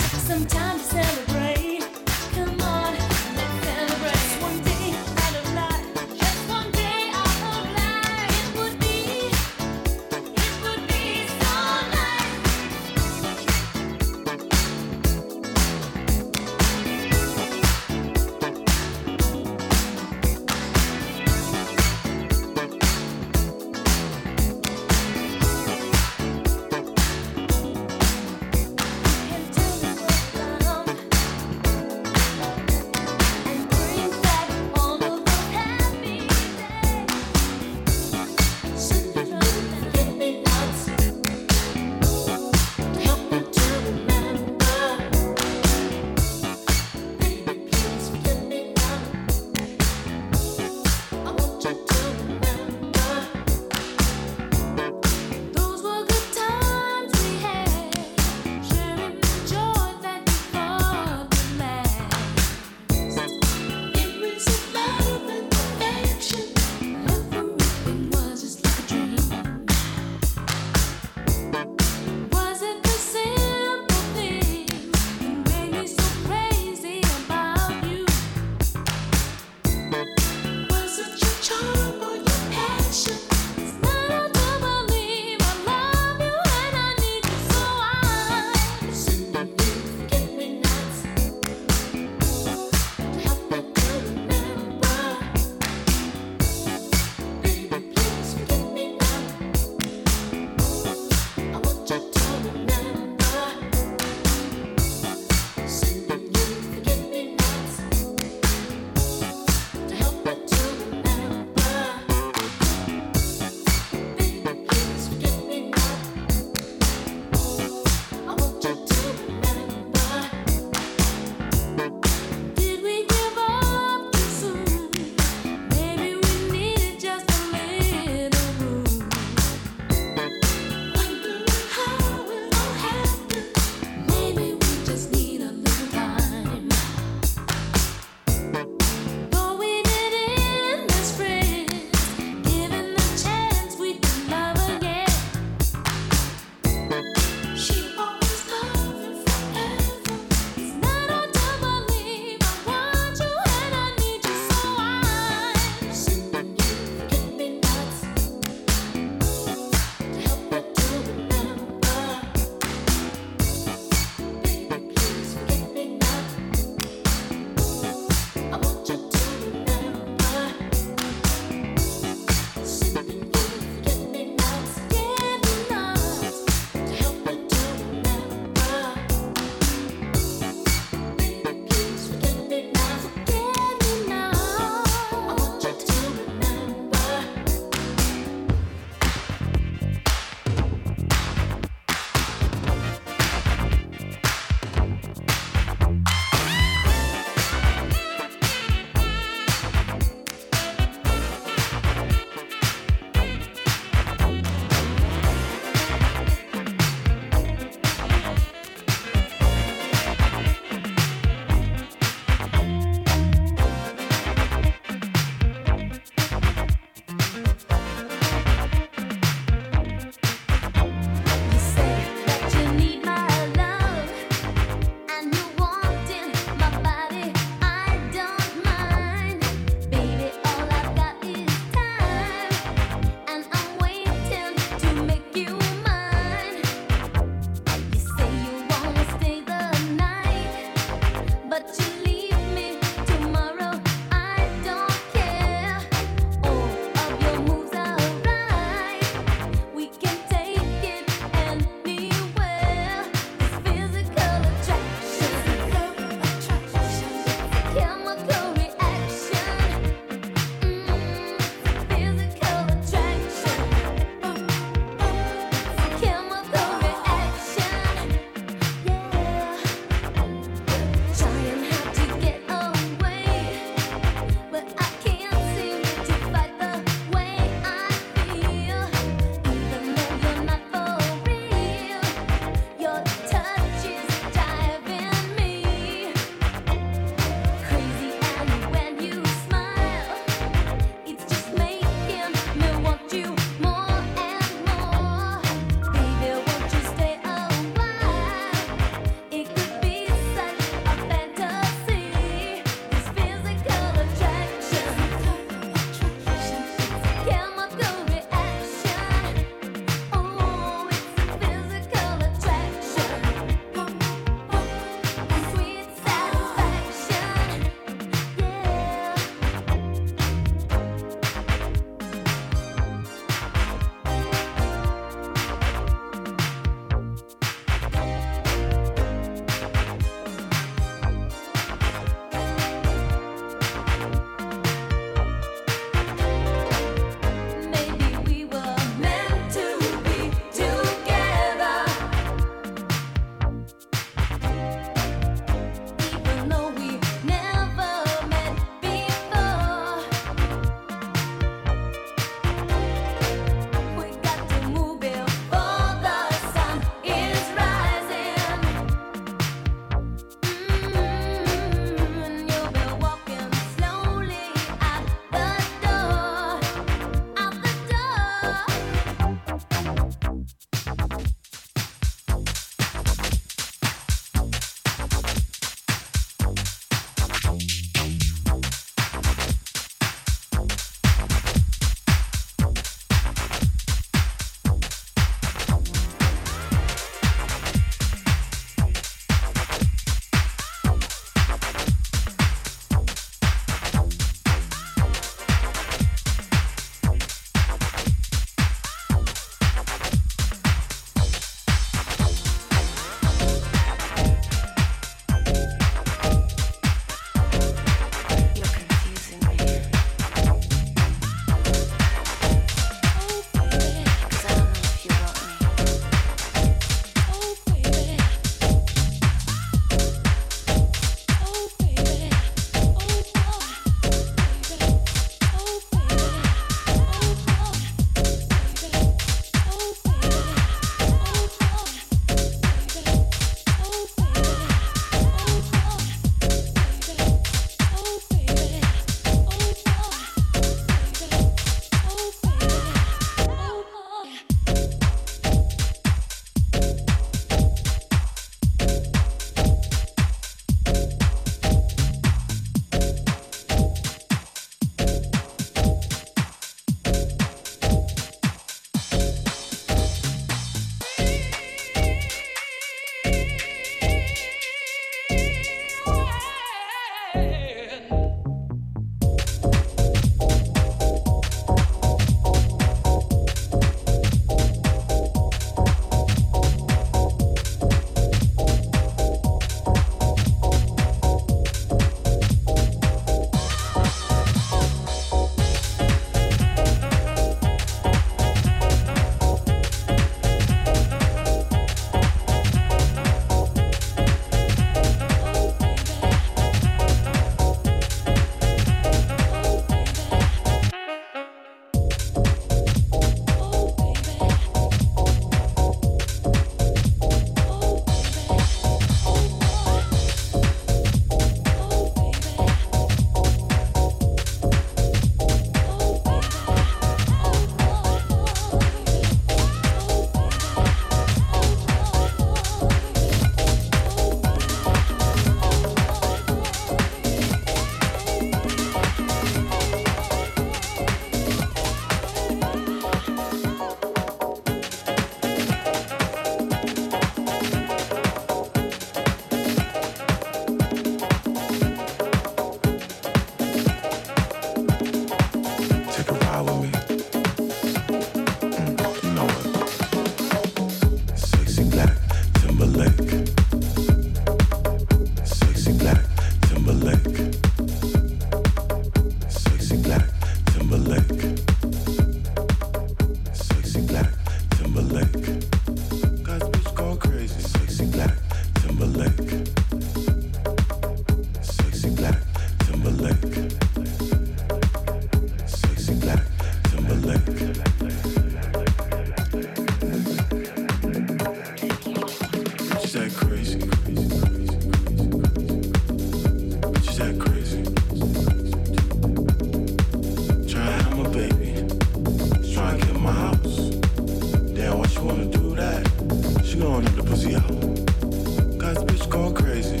S17: do that. She gon' let the pussy out. Got this bitch going crazy.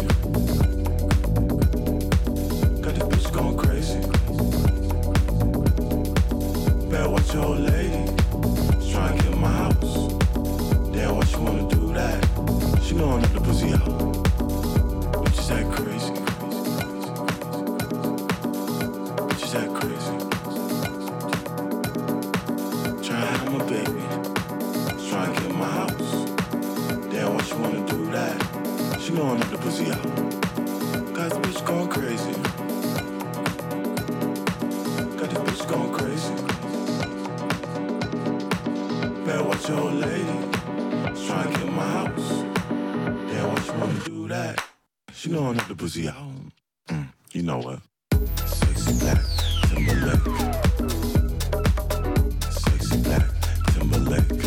S17: Got this bitch going crazy. Better watch your old lady. She's trying to get in my house. Damn, why she wanna do that? She gon' let the pussy out. Bitches act crazy. Bitches act crazy. Try to have my baby. She's trying to get in my house. Damn, why she wanna do that? She gon' let the pussy out. Got this bitch going crazy. Got this bitch going crazy. Better watch your old lady. She's trying to get in my house. Damn, why she wanna do that? She gon' let the pussy out. You know what? Sexy black Timberlake. Sexy black Timberlake.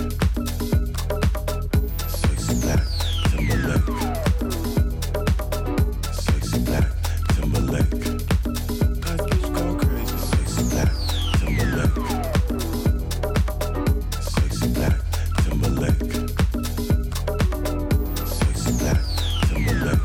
S17: Sexy black Timberlake. Sexy black Timberlake. Got this bitch going crazy. Sexy black Timberlake. Sexy black Timberlake. Sexy black Timberlake.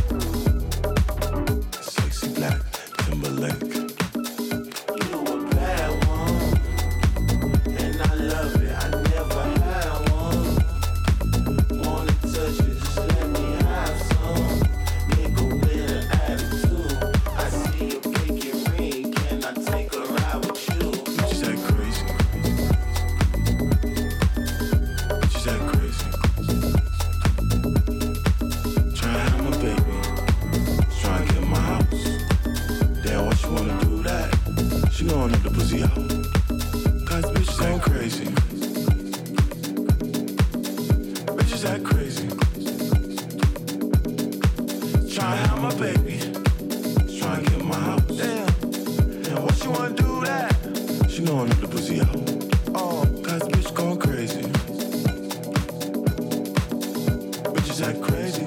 S17: Sexy black Timberlake. You know a bad one, and I love it. I never had one. Wanna touch it, just let me have some. Nigga with an attitude. I see a pinky ring, can I take a ride with you? Bitches act crazy. Bitches act crazy. Try to have my baby. Try to get in my house. Damn, why she wanna do that? She gon' let the pussy out. Cause bitches act crazy. Bitches act crazy. Try to have my baby. Try to get in my house. Damn, why she wanna do that? She gon' let the pussy out. Oh, cause bitch going crazy. Bitches act crazy.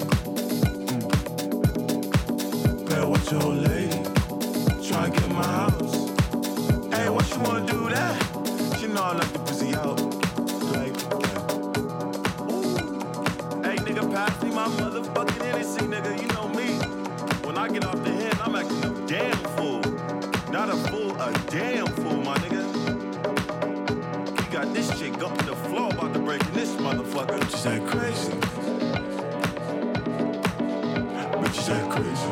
S17: Better watch your old lady. Try to get in my house. Hey, why she wanna do that? She know I let the pussy out. Like that. Ooh. Hey, nigga, pass me my motherfucking Hennessy, nigga. You know me. When I get off the head, I'm acting a damn fool. Not a fool, a damn fool, my nigga. You got this chick up to the floor about to break in this motherfucker. Bitches act crazy. Bitches act crazy.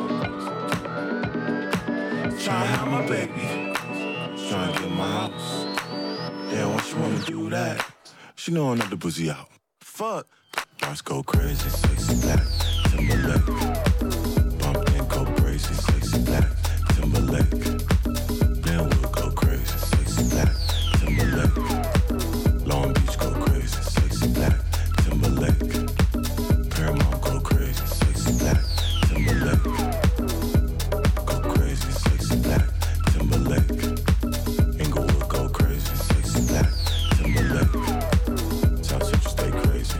S17: Try to have my baby. Try to get in my house. Damn, why she wanna do that? She gon' let the pussy out. Fuck. Girls go crazy. Sexy black Timberlake. Bump and go crazy. Sexy black Timberlake. Then we'll go crazy. Sexy black Timberlake. Long Beach go crazy. Sexy black Timberlake. Paramount go crazy. Sexy black Timberlake. Go crazy. Sexy black Timberlake. Inglewood go crazy. Sexy black Timberlake. South Central stay crazy.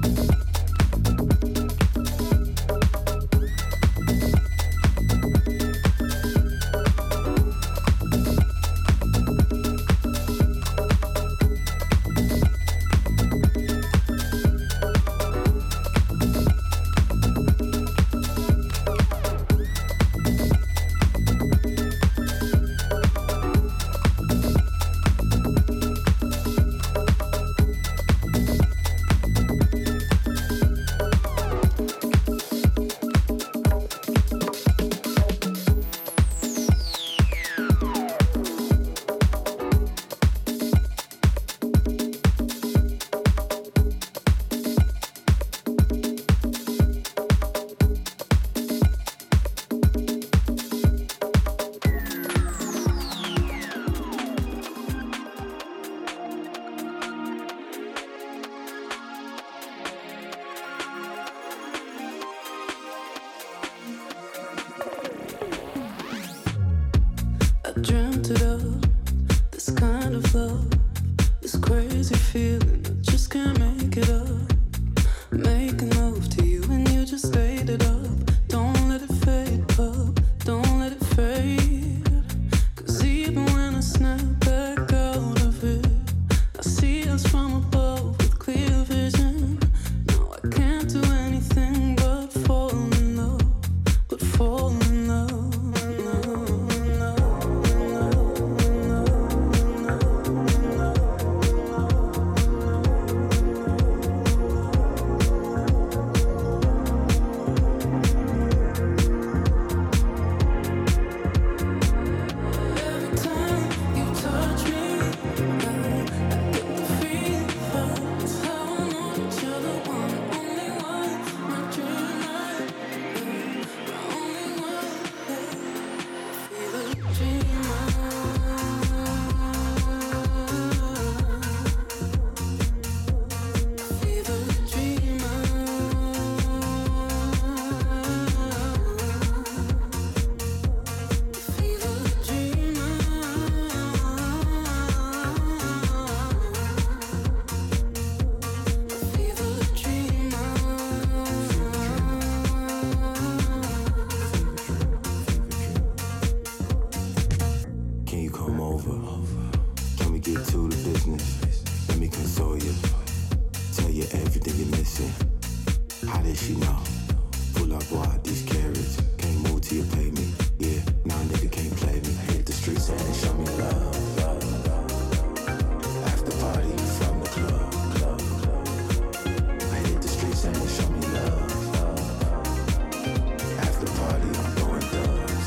S6: dreamt it up. This kind of love, this crazy feeling, I just can't make it up. Making love to you and you just laid it up. Don't let it fade up, don't let it fade. 'Cause even when I snap back out of it, I see us from above with clear vision.
S17: everything you're missing. How did she know? Pull up, boy, these carrots. Can't move till you pay me. Yeah, now a nigga can't play me. Hit the streets and they show me love. After party from the club. I hit the streets and they show me love. After party, I'm going thugs.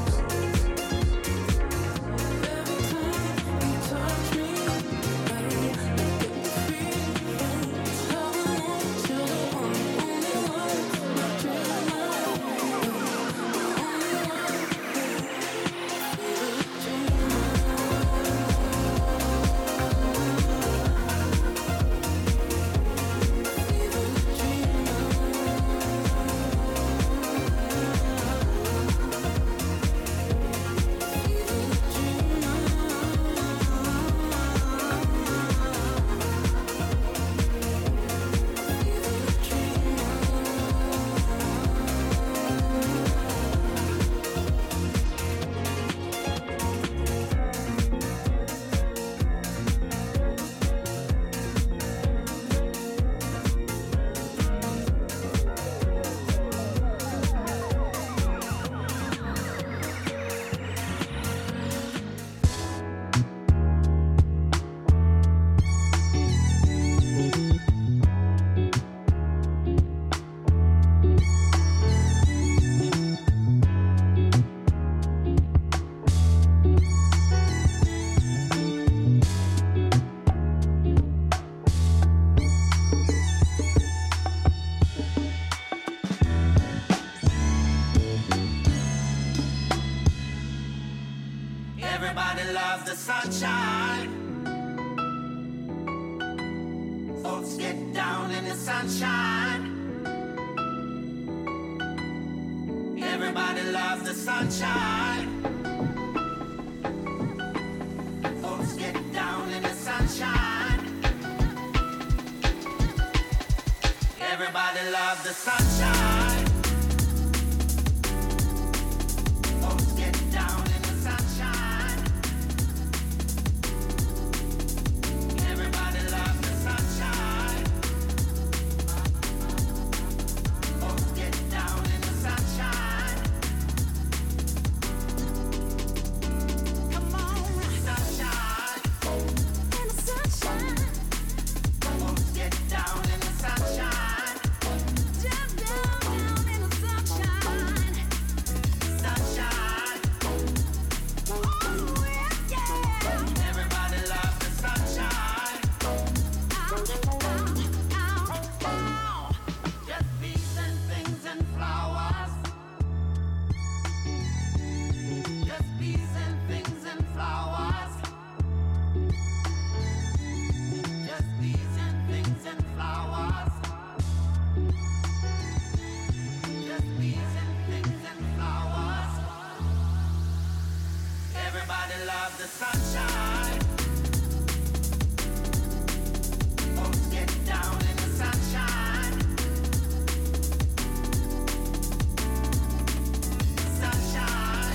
S3: Everybody loves the sunshine. Folks get down in the sunshine. Everybody loves the sunshine. Folks get down in the sunshine. Everybody loves the sunshine. Folks get down in the sunshine. Everybody loves the sunshine. Folks get down in the sunshine. Come on, sunshine. In the sunshine. Folks get down in the sunshine. Down in the sunshine. Sunshine. Oh, yeah. Everybody loves the sunshine. Just bees and things and flowers. Just bees and things and flowers. Just bees and things and flowers. Just bees and things and flowers. Everybody loves the sunshine. Folks get down in the sunshine. Sunshine.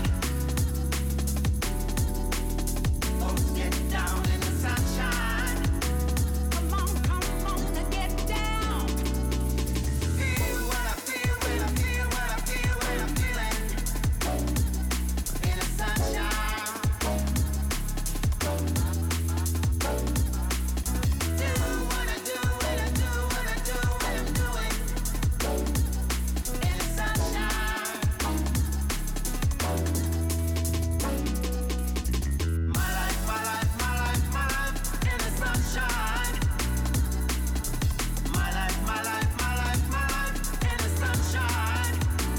S3: Folks get down in the sunshine. Come on and get down. Feel what I feel when I feel what I feel when I'm feeling in the sunshine. Do what I do when I do what I do when I'm doing in the sunshine. My life, my life, my life, my life in the sunshine. My life, my life, my life, my life in the sunshine.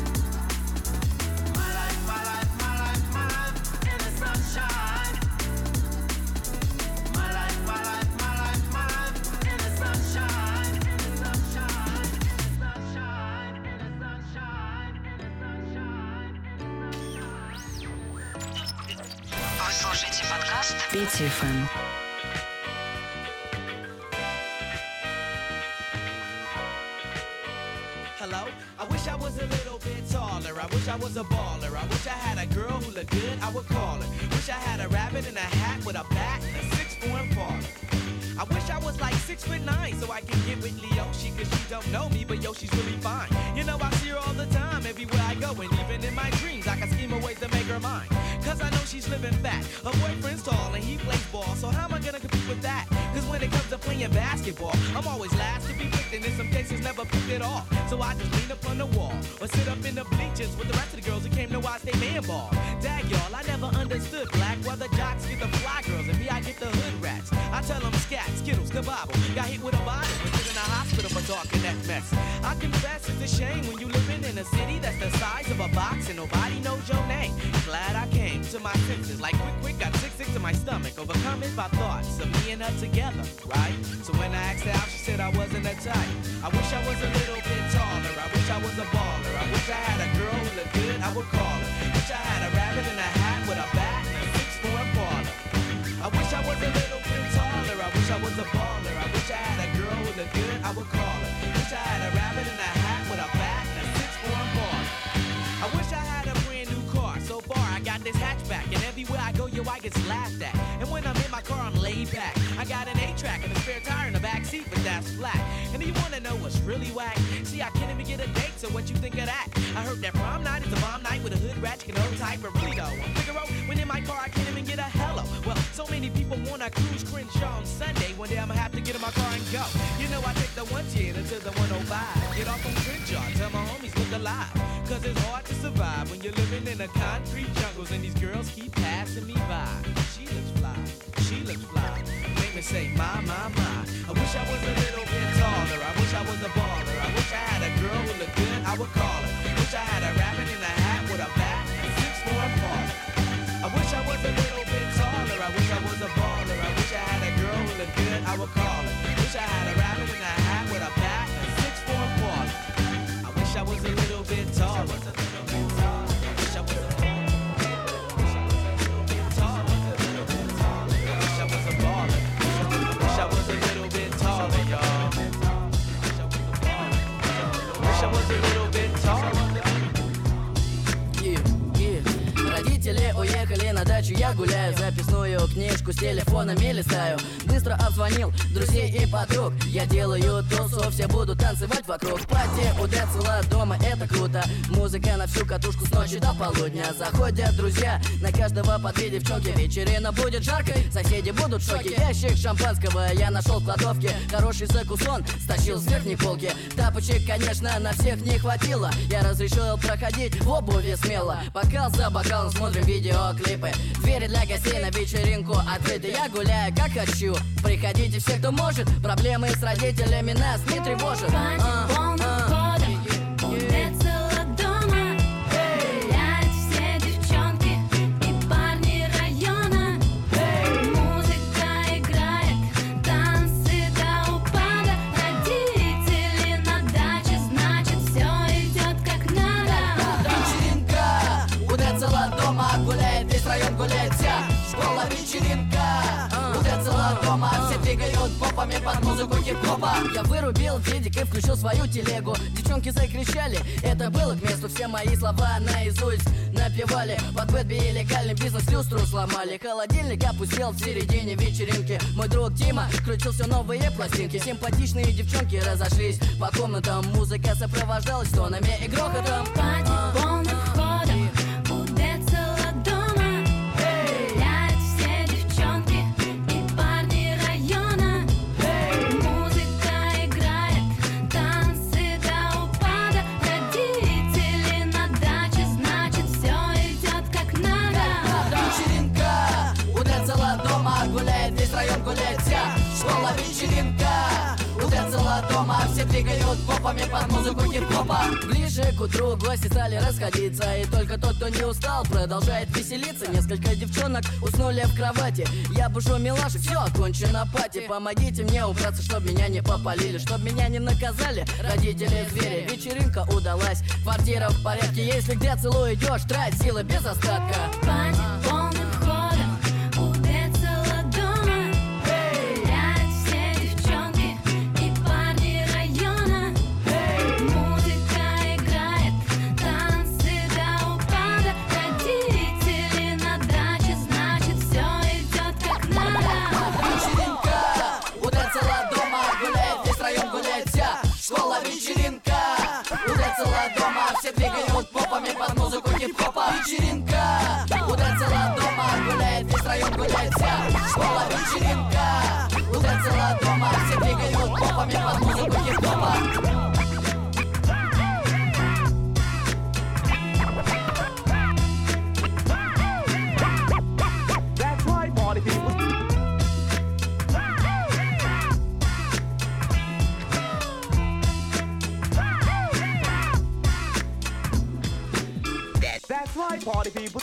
S3: My life, my life, my life, my life in the sunshine. My life, my life, my life, my life in the sunshine. In the sunshine, in the sunshine, in the sunshine, in the sunshine,
S1: Вы слушаете подкаст Петя ФМ.
S3: Hello? I wish I was a little bit taller. I wish I was a baller. I wish I had a girl who looked good, I would call her. Wish I had a rabbit in a hat with a bat and a 6'4" parlor.
S14: I wish I was like 6'9" so I can get with Leoshi, cause she don't know me, but yo, she's really fine. You know, I see her all the time, everywhere I go, and even in my dreams, I can scheme a ways to make her mine. Cause I know she's living fat, her boyfriend's tall, and he plays ball, so how am I gonna compete with that? Cause when it comes to playing basketball, I'm always last to be picked, and in some cases never picked at all. So I just lean up on the wall, or sit up in the bleachers with the rest of the girls who came to watch they man ball. Dag y'all, I never understood black, why the jocks get the fly girls, and me I get the hood rats. I tell them scat, skittles, kabobble, got hit with a bottle, and put in a hospital for talking that mess. I confess it's a shame when you living in a city that's the size of a box and nobody knows your name. Glad I came to my senses, like quick, got sick to my stomach, overcome it by thoughts of me and her together, right? So when I asked her out, she said I wasn't a type. I wish I was a little bit taller, I wish I was a baller, I wish I had a girl who looked good, I would call her. Wish I had a rabbit in a hat with a bat and a 6'4" baller. I wish I was a little bit taller, I wish I was a baller, I wish I had a girl who looked good, I would call her. Wish I had a rabbit in a hat with a bat and a 6'4" baller. I wish I had a brand new car, so far I got this hatchback, and everywhere I go, yo, I get laughed at. And when I'm in my car, I'm laid back. I got an 8-track and a spare tire in the back seat, but that's flat. And you wanna know what's really whack? See, I can't even get a date, so what you think of that? I heard that prom night is a bomb night with a hood rat, you can own type, but really though, I'm Figaro, when in my car, I can't even get a hello. Well, so many people wanna cruise Crenshaw on Sunday, one day I'ma have to get in my car and go. You know, I take the 110 until the 105, get off on Crenshaw, tell my homies look alive. Cause it's hard to survive when you're living in a concrete jungles and these girls keep passing me by. She looks fly, she looks fly. Make me say, my. I wish I was a little bit taller, I wish I was a baller, I wish I had a girl who looked good, I would call her. Wish I had a rabbit in a hat with a bat and 6'4" baller. I wish I was a little bit taller, I wish I was a baller, I wish I had a girl who looked good, I would call her. Wish I had a rabbit in a hat with a bat and 6'4" baller. I wish I was a little bit taller. I wish I was a
S20: Родители уехали на дачу, я гуляю, записную книжку с телефонами листаю. Быстро обзвонил друзей и подруг, я делаю тусу, все будут танцевать вокруг. Пати у Децела дома, это круто, музыка на всю катушку с ночи до полудня. Заходят друзья, на каждого по 2 девчонки, вечерина будет жаркой, соседи будут в шоке. Ящик шампанского я нашел в кладовке, хороший закусон стащил с верхней полки. Тапочек, конечно, на всех не хватило, я разрешил проходить в обуви смело. Бокал за бокалом смотрим видеоклипы, двери для гостей на вечеринку открыты. Я гуляю как хочу, приходите все, кто может, проблемы с родителями нас не тревожат.
S7: Полным ходом у Децела дома гуляют все девчонки и парни района. Музыка играет, танцы до упада. Родители на даче, значит все идет как надо.
S20: Вечеринка у Децела дома, гуляет весь район, гуляет вся школа. Вечеринка у Децела дома, все двигают попами под музыку хип-хопа. Я вырубил дедик и включил свою телегу. Девчонки закричали, это было к месту. Все мои слова наизусть напевали. Под бэтби и легальный бизнес люстру сломали. Холодильник опустел в середине вечеринки. Мой друг Дима крутил все новые пластинки. Симпатичные девчонки разошлись по комнатам. Музыка сопровождалась тонами и грохотом.
S7: Пати полным ходом у Децела дома гуляют все девчонки и парни района. Музыка играет, танцы до упада. Родители на даче, значит все идет как надо.
S20: Вечеринка у Децела дома, гуляет весь район, гуляет вся школа. Вечеринка у Децела дома, все двигают попами под музыку хип-хопа. Ближе к утру гости стали расходиться, и только тот, кто не устал, продолжает веселиться. Несколько девчонок уснули в кровати, я бушу милашек, все окончено пати. Помогите мне убраться, чтоб меня не попалили, чтоб меня не наказали родители звери. Вечеринка удалась, квартира в порядке, если к Децелу идешь, трать силы без остатка.
S7: Пати полным ходом у Децела дома гуляют все девчонки и парни района. Музыка играет, танцы до упада. Родители на даче, значит все идет как надо.
S20: Вечеринка у танцами под музыку хип-хопа.
S3: That's right, party people. That's right, party people.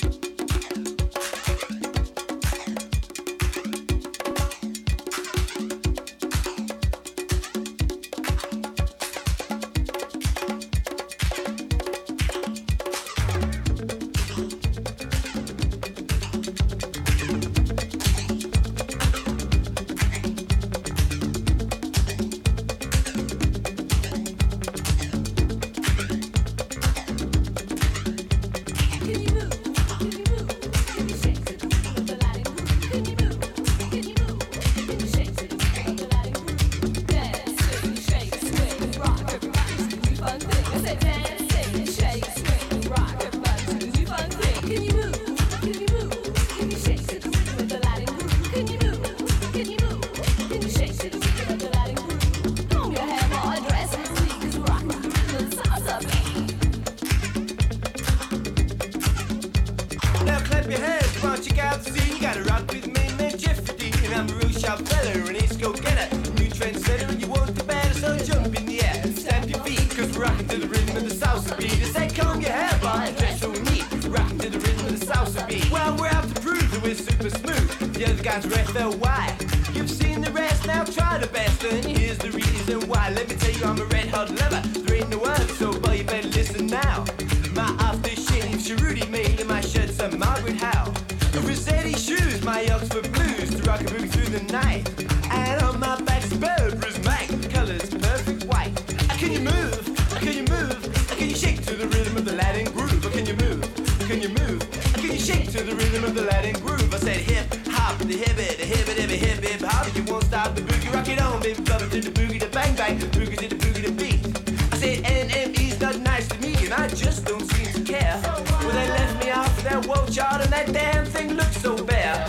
S3: Now clap your hands, come on, check out the scene. You gotta rock with me, man, Jeffrey Dean. And I'm a real sharp fella, an ace go-getter, new trendsetter, and you want the better, so jump in the air and stamp your feet, cause we're rocking to the rhythm of the salsa beat. I say, comb your hair, boy, dress so neat, rocking to the rhythm of the salsa beat. Well, we're out to prove that we're super smooth. The other guys are FLY. You've seen the rest, now try the best, and here's the reason why. Let me tell you, I'm a red-hot lover. There ain't no one, so boy, you better listen now. My aftershave, Cherudy made, and my shirt's a Margaret Howe. Rossetti shoes, my Oxford blues, to rock a boogie through the night. And on my back's Burberry's Mike, colours perfect white. Can you move? Can you move? Can you shake to the rhythm of the Latin groove? Can you move? Can you move? Can you shake to the rhythm of the Latin groove? I said hip hop, the hip it, every hip hip hop. You won't stop the boogie, rock it on, baby, bubble to the boogie, the bang bang, boogie to the boogie, the beat. I said NME's not nice to me, and I just don't seem to care. Well, they left me off that world chart, and that damn thing looks so bare.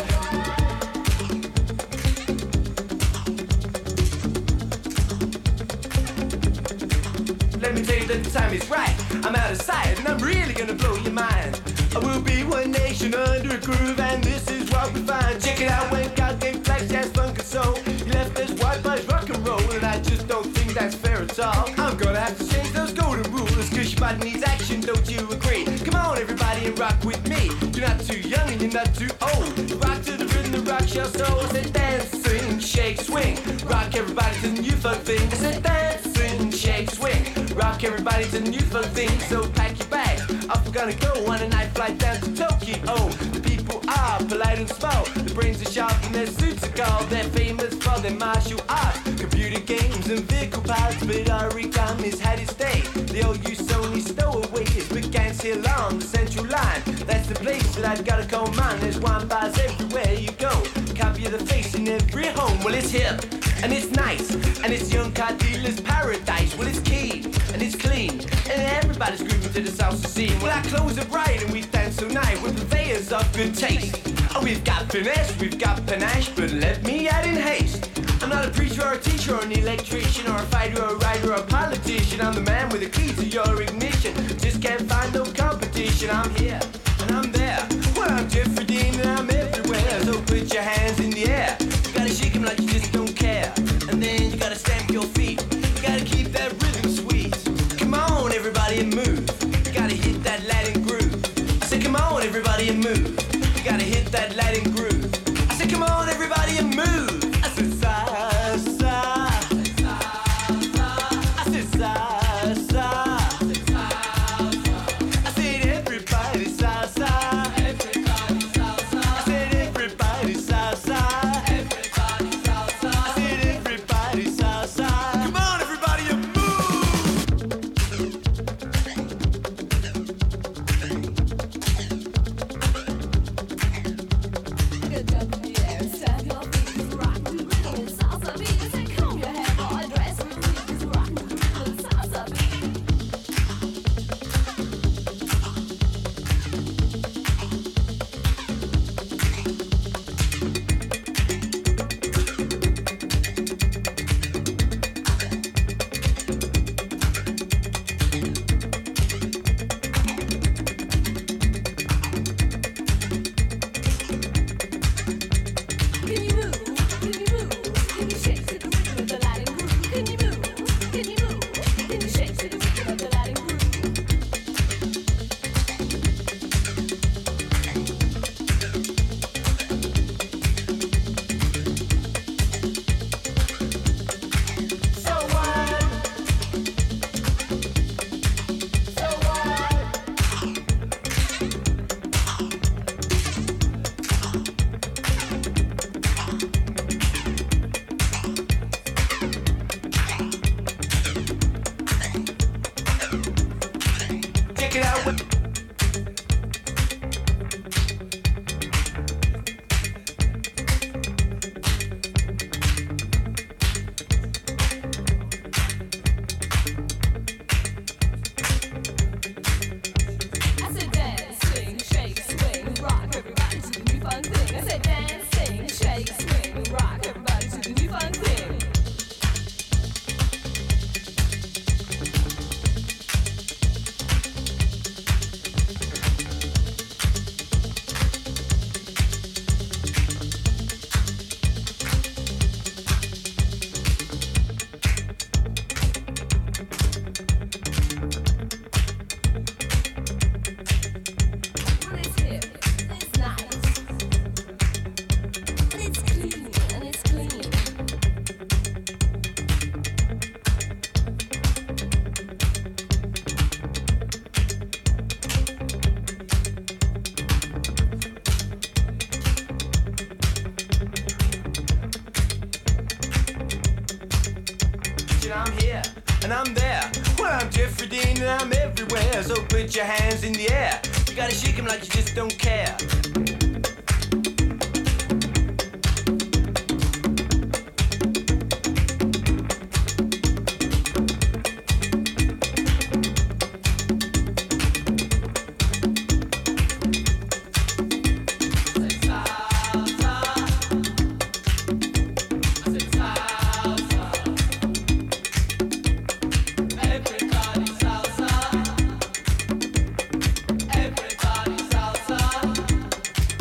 S3: Let me tell you that the time is right. I'm out of sight, and I'm really gonna blow your mind. I will be one nation under a groove, and this is what we find. Check it out when God gave flash, jazz, funk, and soul. He left us white boys rock and roll, and I just don't think that's fair at all. I'm gonna have to change those golden rules, cause your body needs action, don't you agree? Come on, everybody, and rock with me. You're not too young, and you're not too old. Rock to the rhythm, the rock your soul. Say dance, sing, shake, swing. Rock everybody to the new funk thing. I said dance, sing, shake, swing. Rock everybody to the new funk thing. So pack your bag, off we're gonna go on a night flight down to Tokyo. The people are polite and small. The brains are sharp and their suits are gold. They're famous for their martial arts, computer games and vehicle parts. But origami's had its day. The old use only stowaways, but gangs here along the central line. That's the place that I've gotta call mine. There's wine bars everywhere you go. Copy of the face in every home. Well, it's hip and it's nice, and it's young car dealer's paradise. Well, it's keen and it's clean, and everybody's grooving to the salsa scene. Well, our clothes are bright and we dance so nice. We're purveyors of good taste. Oh, we've got finesse, we've got panache, but let me add in haste. I'm not a preacher or a teacher or an electrician or a fighter or a writer or a politician. I'm the man with the key to your ignition. Just can't find no competition. I'm here and I'm there. Well, I'm Jeffrey Dean and I'm everywhere. So put your hands in the air. You gotta shake them like you just don't care. And then you gotta stamp your feet. You gotta keep that rhythm sweet. Come on, everybody, and move. You gotta hit that Latin groove. I said, come on, everybody, and move. You gotta hit that Latin groove. I said, come on, everybody, and move. I said, salsa. I said, salsa. I said, everybody, salsa. I said, everybody, salsa.
S8: Can you move? Can you shake to the rhythm of the Latin groove? So what? So what?
S3: Check it out.
S8: I said dance, swing, shake, swing, rock, everybody to the new fun thing. I said dance, sing, shake, swing, rock, everybody to the new fun thing. Well, it's hip, it's nice, and it's clean, and it's clean.
S3: And I'm here, and I'm there. Well, I'm Jeffrey Dean, and I'm everywhere. So put your hands in the air. You gotta shake 'em like you just don't care.
S8: Everybody salsa. Everybody salsa.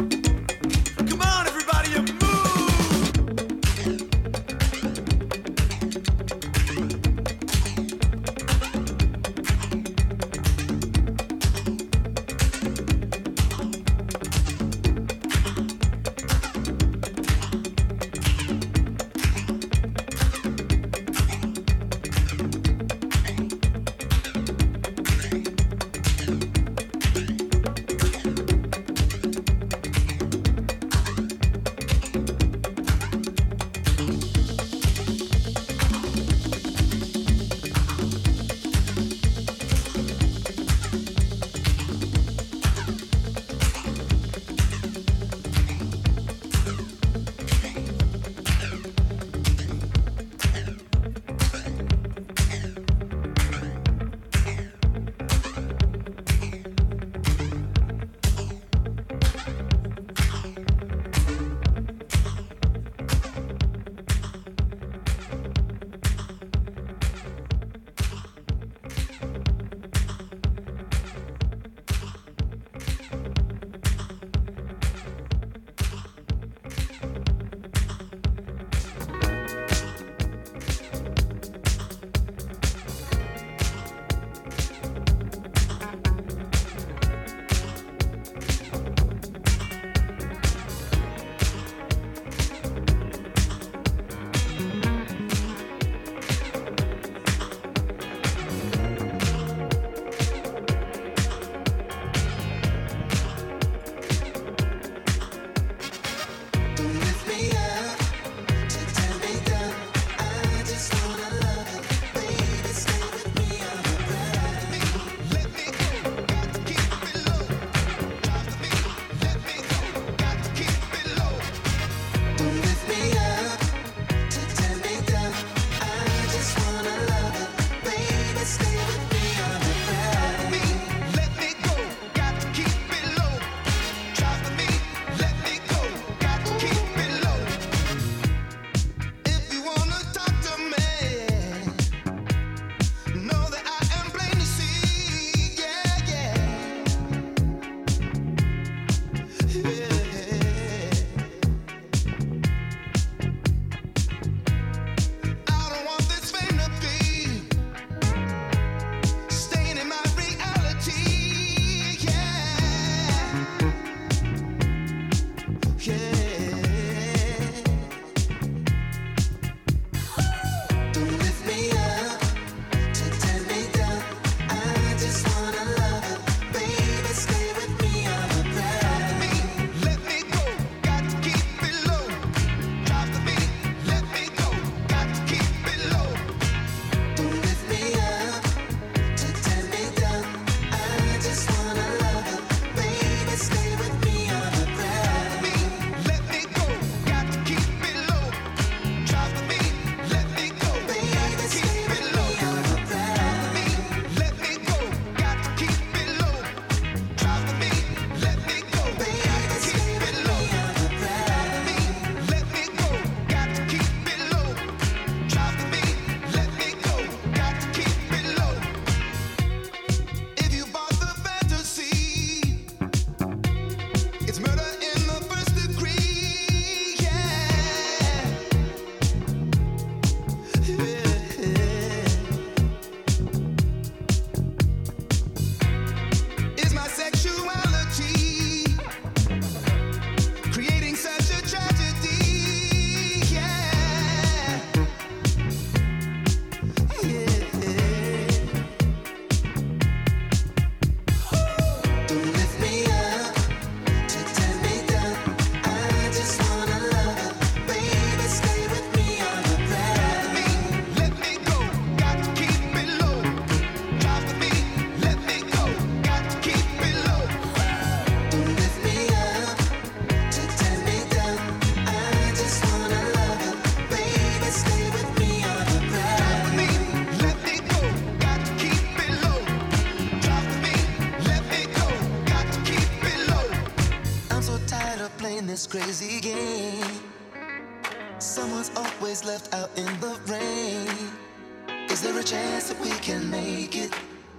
S4: crazy game. Someone's always left out in the rain. Is there a chance that we can make it?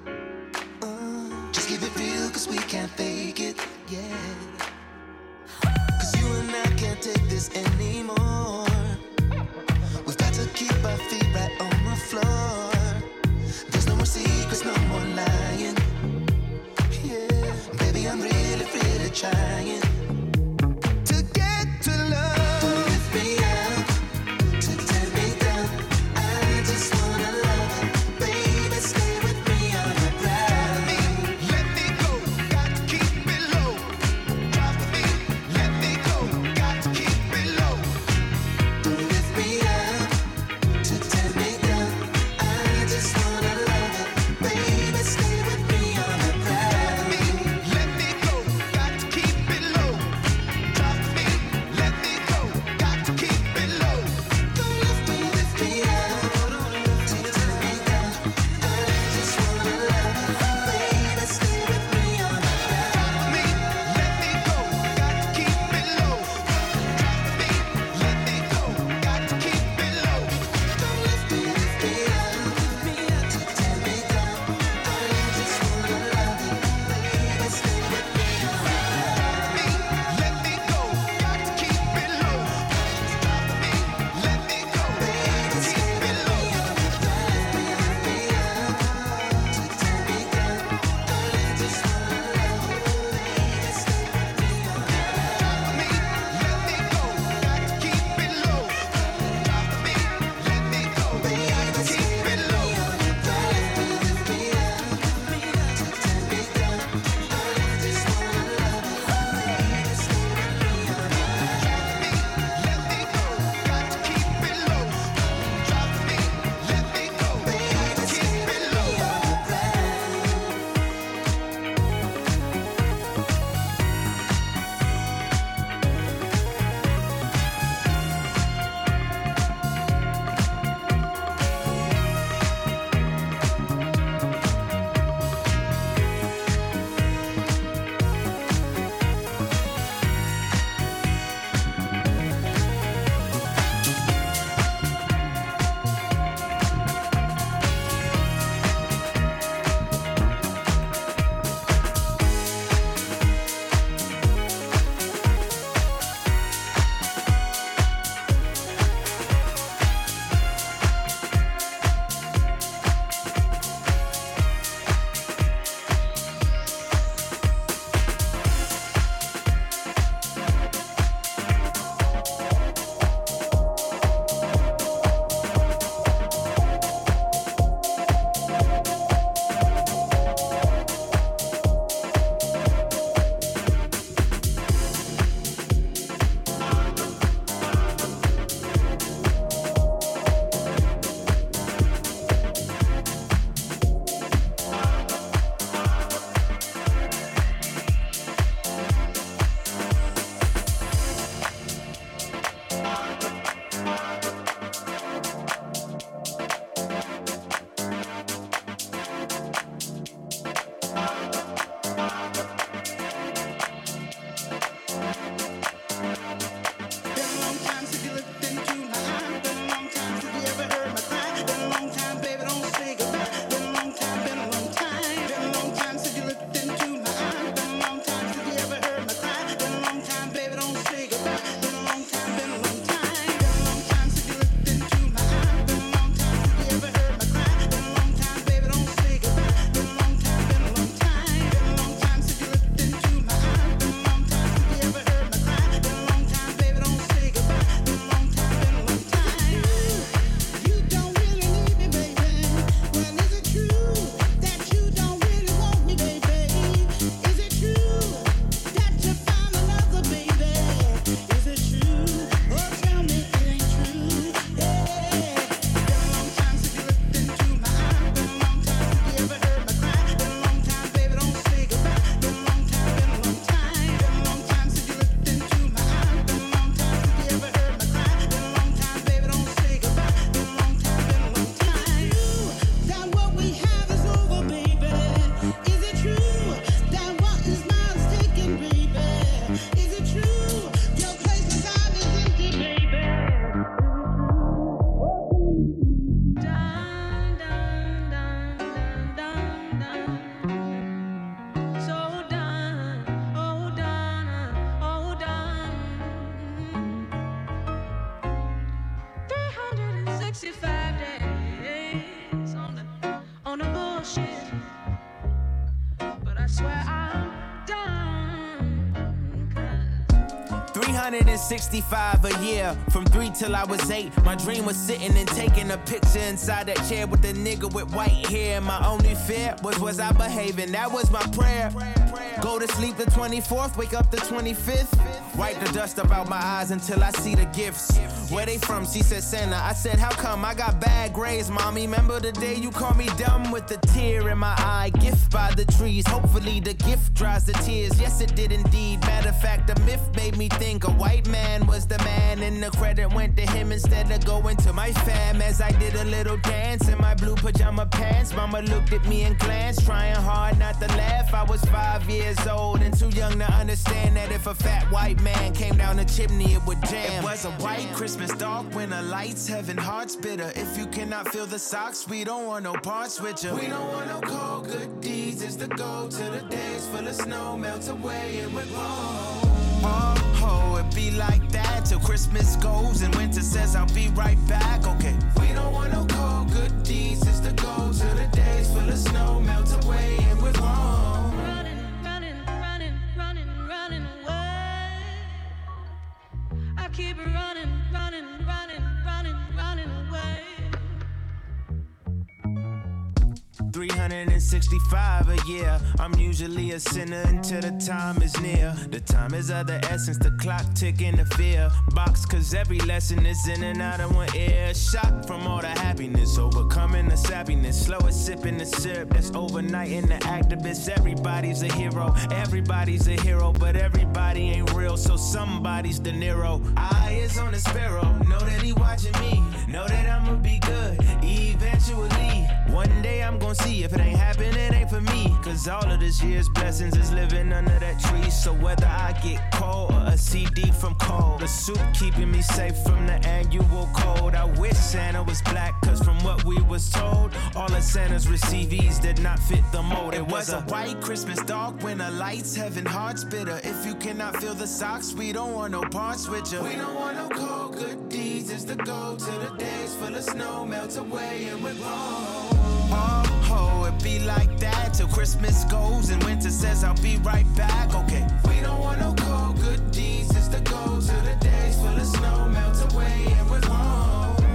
S4: Just keep it real, cause we can't fake it, yeah. Cause you and I can't take this anymore. We've got to keep our feet right on the floor. There's no more secrets, no more lying. Yeah, baby, I'm really, really trying to get to love. Don't lift me up, to tear me down. I just wanna love it. Baby, stay with me on the ground. Let me go, got to keep it low. Drop me, let me go, got to keep it low. Don't lift me up, to tear me down. I
S6: bullshit. But I swear I'm done.
S10: 365 a year, from 3 till I was 8. My dream was sitting and taking a picture inside that chair with the nigga with white hair. My only fear was I behaving? That was my prayer. Go to sleep the 24th, wake up the 25th. Wipe the dust up out my eyes until I see the gifts. Where they from? She said Santa. I said, how come? I got bad grades, mommy. Remember the day you called me dumb with the tear in my eye? Gift by the trees. Hopefully the gift dries the tears. Yes, it did indeed. Matter of fact, the myth made me think a white man was the man, and the credit went to him instead of going to my fam. As I did a little dance in my blue pajama pants, mama looked at me and glanced, trying hard not to laugh. I was 5 years old and too young to understand that if a fat white man came down the chimney, it would jam. It was a white Christmas, dark winter lights, heaven hearts bitter. If you cannot feel the socks, we don't want no parts with you. We don't want no cold good deeds. It's the go to the days full of snow melts away and we're wrong. Oh, it be like that till Christmas goes and winter says I'll be right back. Okay. We don't want no cold good deeds. It's the go to the days full of snow melts away and we're wrong.
S6: Running away. I keep running away.
S10: 365 a year. I'm usually a sinner until the time is near. The time is of the essence, the clock ticking the fear box, cause every lesson is in and out of one ear. Shocked from all the happiness, overcoming the sappiness, slow as sipping the syrup that's overnight in the activists. Everybody's a hero, but everybody ain't real, so somebody's De Niro. Eye is on the sparrow, know that he watching me, know that I'ma be good eventually. One day I'm gonna see if it ain't happening, it ain't for me. Cause all of this year's blessings is living under that tree. So whether I get cold or a CD from Cole, the soup keeping me safe from the annual cold. I wish Santa was black, cause from what we was told, all of Santa's receivees did not fit the mold. It was a white Christmas, dark winter lights, heaven hearts bitter. If you cannot feel the socks, we don't want no parts with you. We don't want no cold good deeds. It's the go to the days full of snow melts away and we're wrong. Oh, it be like that till Christmas goes and winter says I'll be right back. Okay. We don't want no cold good deeds. It's the go to the days full of snow melts away and we're wrong.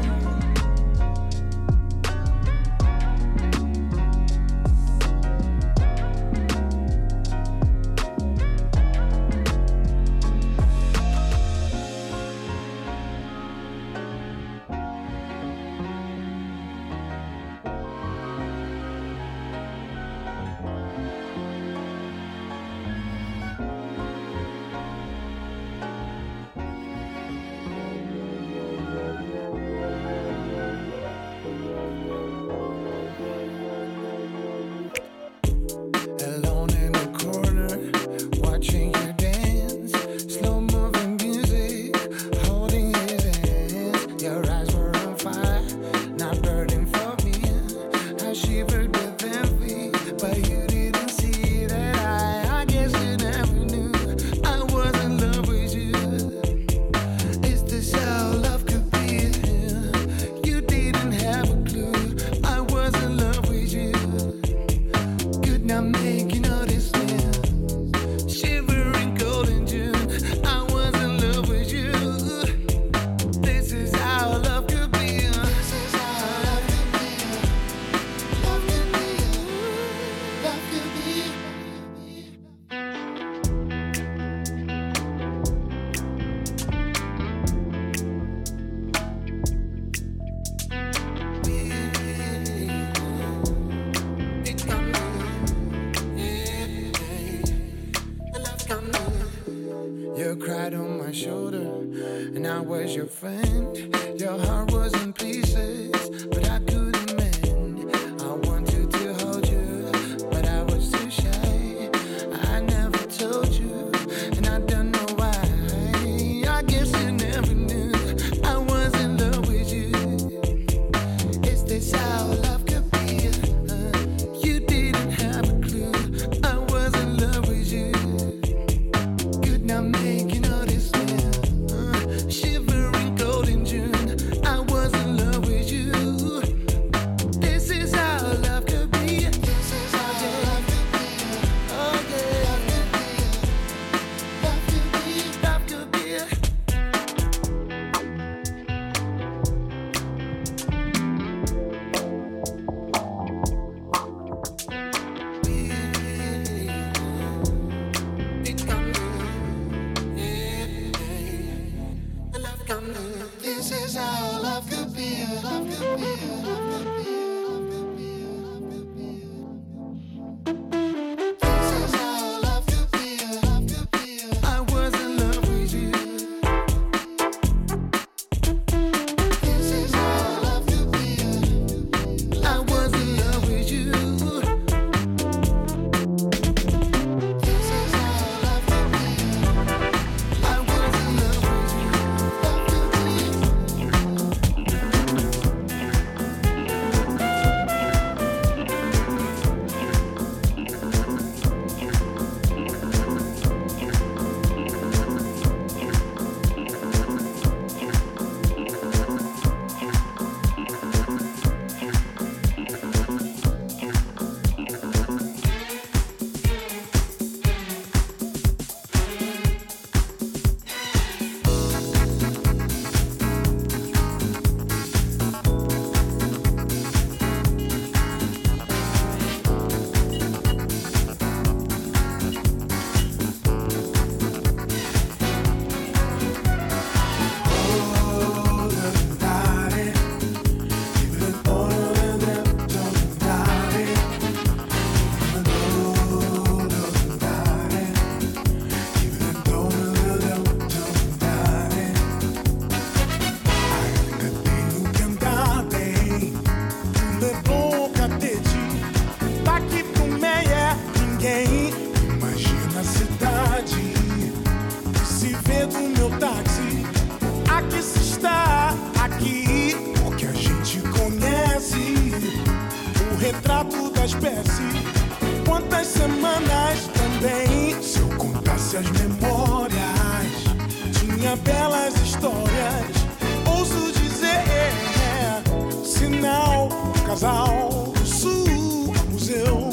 S4: cried on my shoulder, and I was your friend. Your heart was in pieces, but I couldn't mend. I wanted to hold you, but I was too shy. I never told you, and I don't know why. I guess you never knew I was in love with you. Is this how love could be? You didn't have a clue. I was in love with you. Could not make you notice me. Shivering cold in June. I was in love with you.
S9: soubesse quantas semanas também. Se eu contasse as memórias, tinha belas histórias. Ouso dizer, sinal, casal do sul, museu.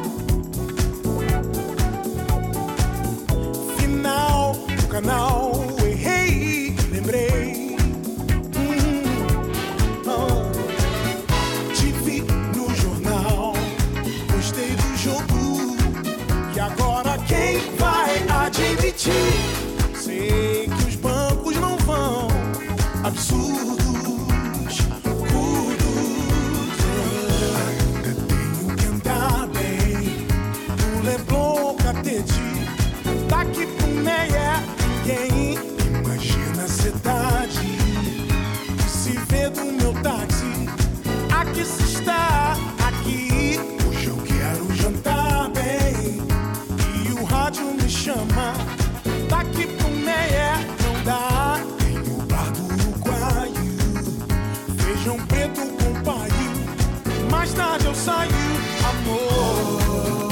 S9: Final do canal, errei, lembrei. Tive no jornal, gostei do jogo. E agora quem vai admitir? Sei que os bancos não vão, absurdos, curdos. Ainda tenho que andar bem no Leblon, Catete. Daqui pro Meia, ninguém imagina a cidade que se vê do meu táxi. Aqui se está, aqui. Hoje eu quero jantar bem e o rádio me chama. Daqui pro Meia não dá. Tem o bar do Uruguaio, feijão preto com paio. Mais tarde eu saio, amor.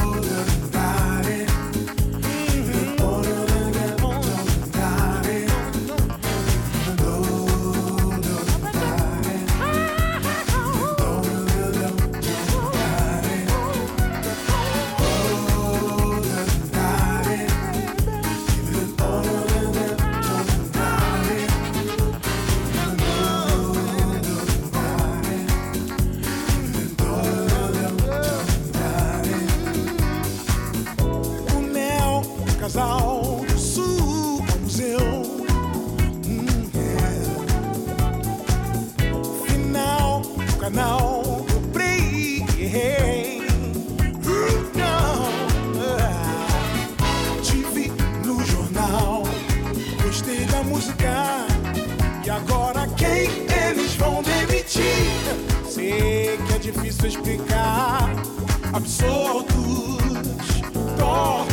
S9: Casal do sul, museu. Final do canal, eu play. Tive no jornal, gostei da música. E agora quem eles vão demitir? Sei que é difícil explicar. Absurdos, tortos.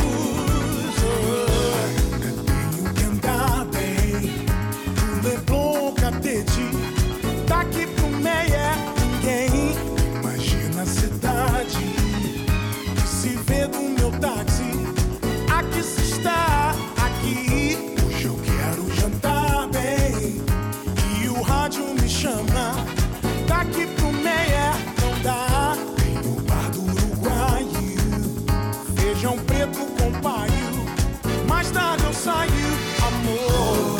S9: Ainda tenho que andar bem no Leblon, Catete. Daqui pro Meia, ninguém imagina a cidade que se vê do meu táxi. Aqui se está, aqui. Hoje eu quero jantar bem e o rádio me chama. Daqui pro Meia não dá. Tem o bar do Uruguaio, feijão preto com paio. Mais tarde eu saio, amor.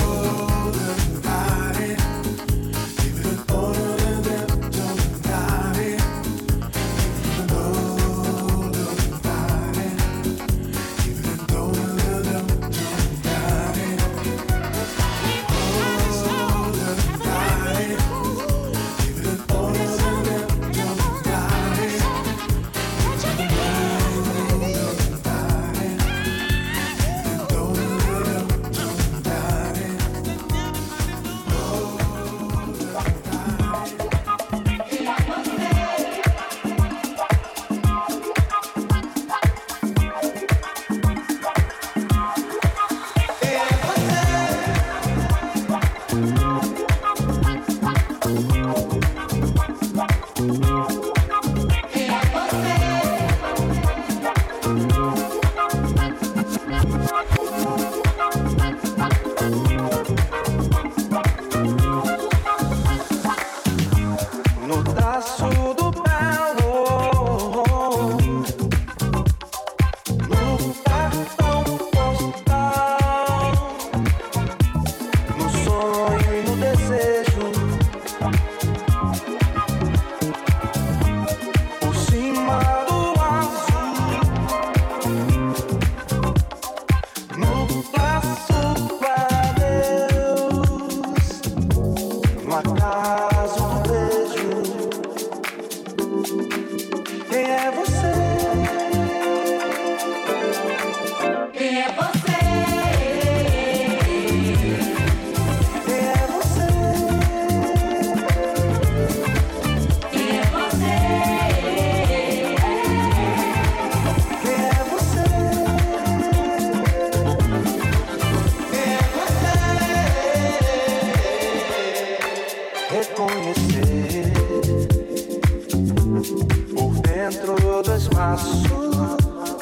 S3: passo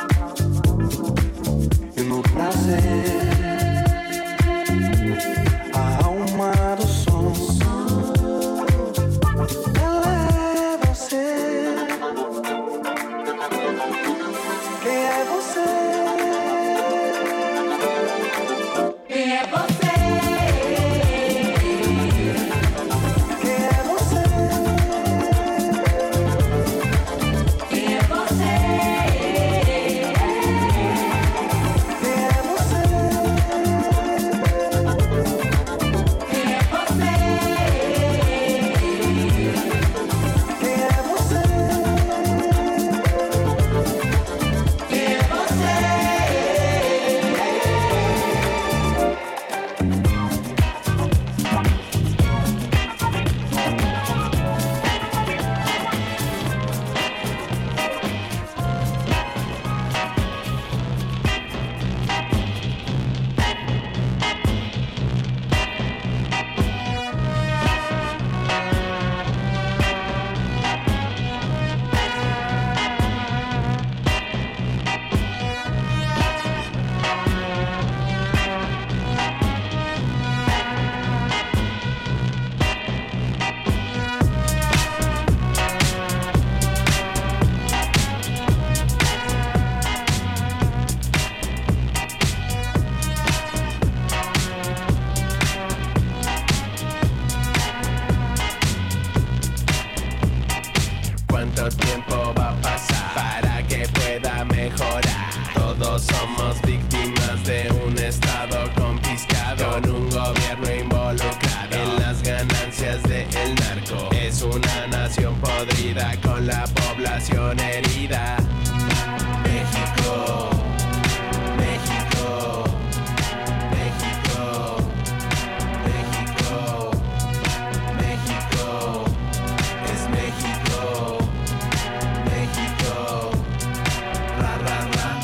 S3: e no prazer a alma do som. Ela é você. Quem é você?
S7: Quem é você?
S10: ¿Cuánto tiempo va a pasar para que pueda mejorar? Todos somos víctimas de un estado confiscado, con un gobierno involucrado en las ganancias del narco. Es una nación podrida con la población herida. México, México, México, México, México, es México. México, ra, ra, ra.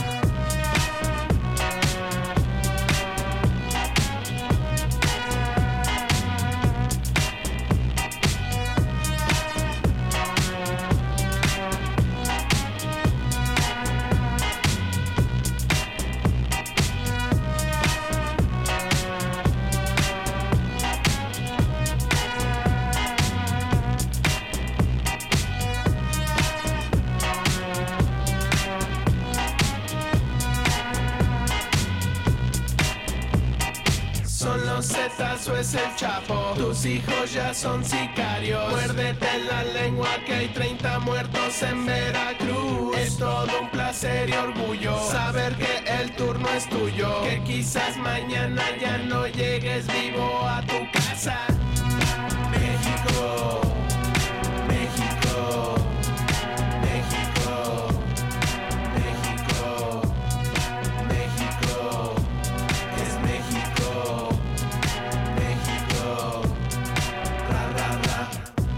S10: Son los Zetas o es el Chapo, tus hijos ya son sicarios. Muérdete la lengua que hay 30 muertos en Veracruz. Es todo un placer y orgullo saber que el turno es tuyo, que quizás mañana ya no llegues vivo a tu casa. México, México, México, México, México, es México. México, ra, ra, ra.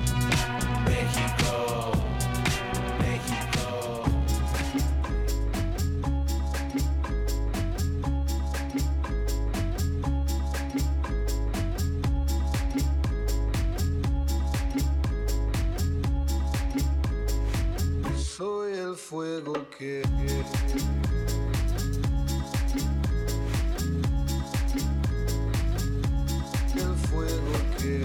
S10: México, México.
S16: Soy el fuego que el fuego que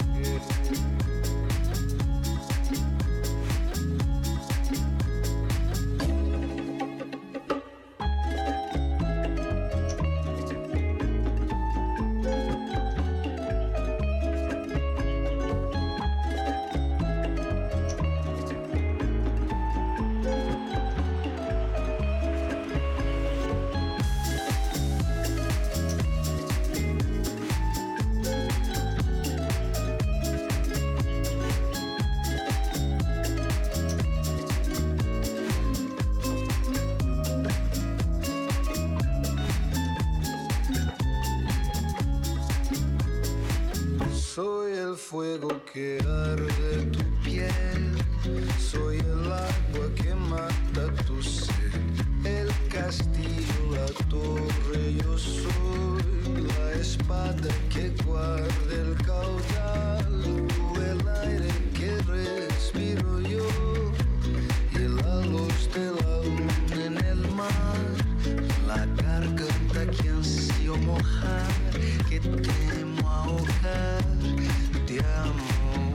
S16: soy el fuego que arde tu piel, soy el agua que mata tu sed, el castillo, la torre, yo soy la espada que guarda el caudal, tú el aire que respiro yo y la luz de la luna. que temo ahogar, te amo.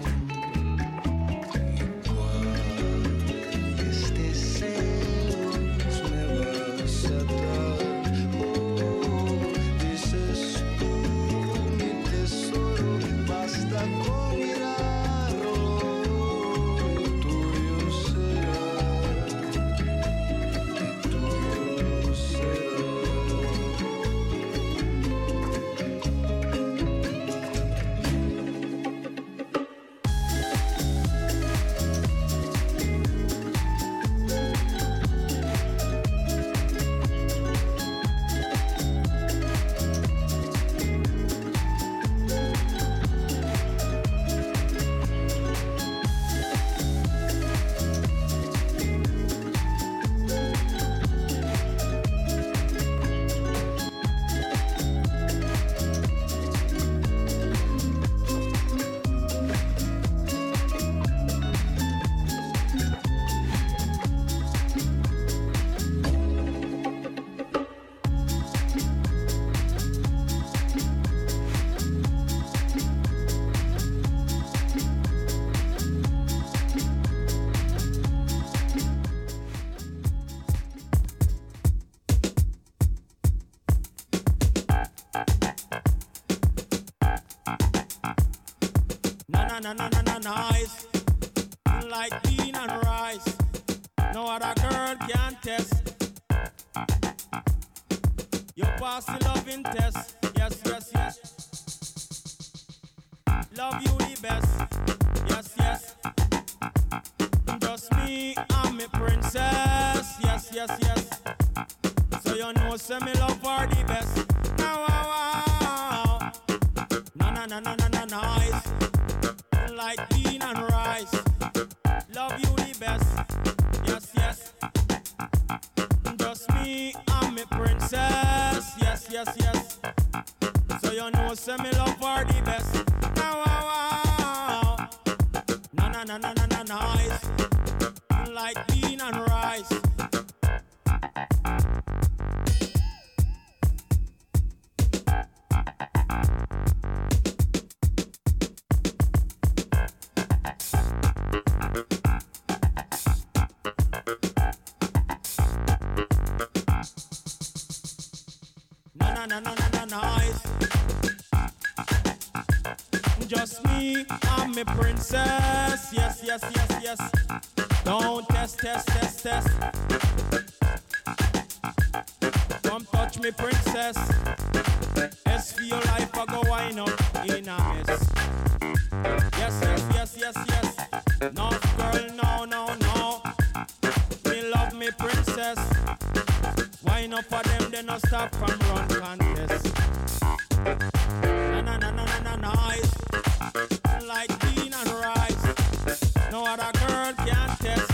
S16: Y cuando estés celos me vas a dar, dices tú, mi tesoro, basta con mirarlo, tuyo será, tuyo será.
S3: Nice, like bean and rice. No other girl can test. You pass the loving test. Yes, yes, yes. Love you the best. Yes, yes. Just me and me princess. Yes, yes, yes. So you know, say me love for the best. Wow, wow, wow. Nice. Like bean and rice. Love you the best. Yes, yes. Just me and me princess. Yes, yes, yes. So you know, say me love for the best. Wow, wow, wow. Nice. Like bean and rice. Nice. Just me and me princess. Yes, yes, yes, yes. Don't test. Come touch me, princess. S for your life, I go wine up in a mess. Yes, yes, yes, yes, yes. No, girl, no. Me love me, princess. Wine up for them, they no stop from run contest. Nice. Like bean and rice. No other girl can test.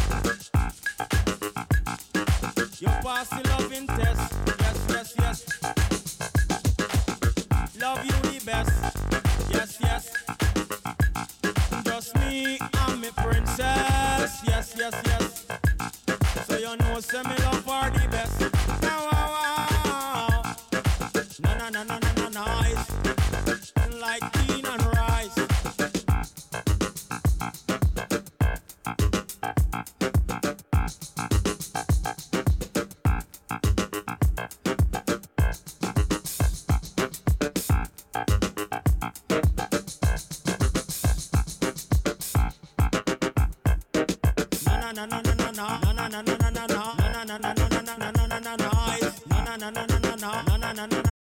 S3: You pass the loving test. Yes, yes, yes. Love you the best. Yes, yes. Just me and me princess. Yes, yes, yes. So you know, say me love for the best. Wow, wow, wow. Nice. Like bean and rice.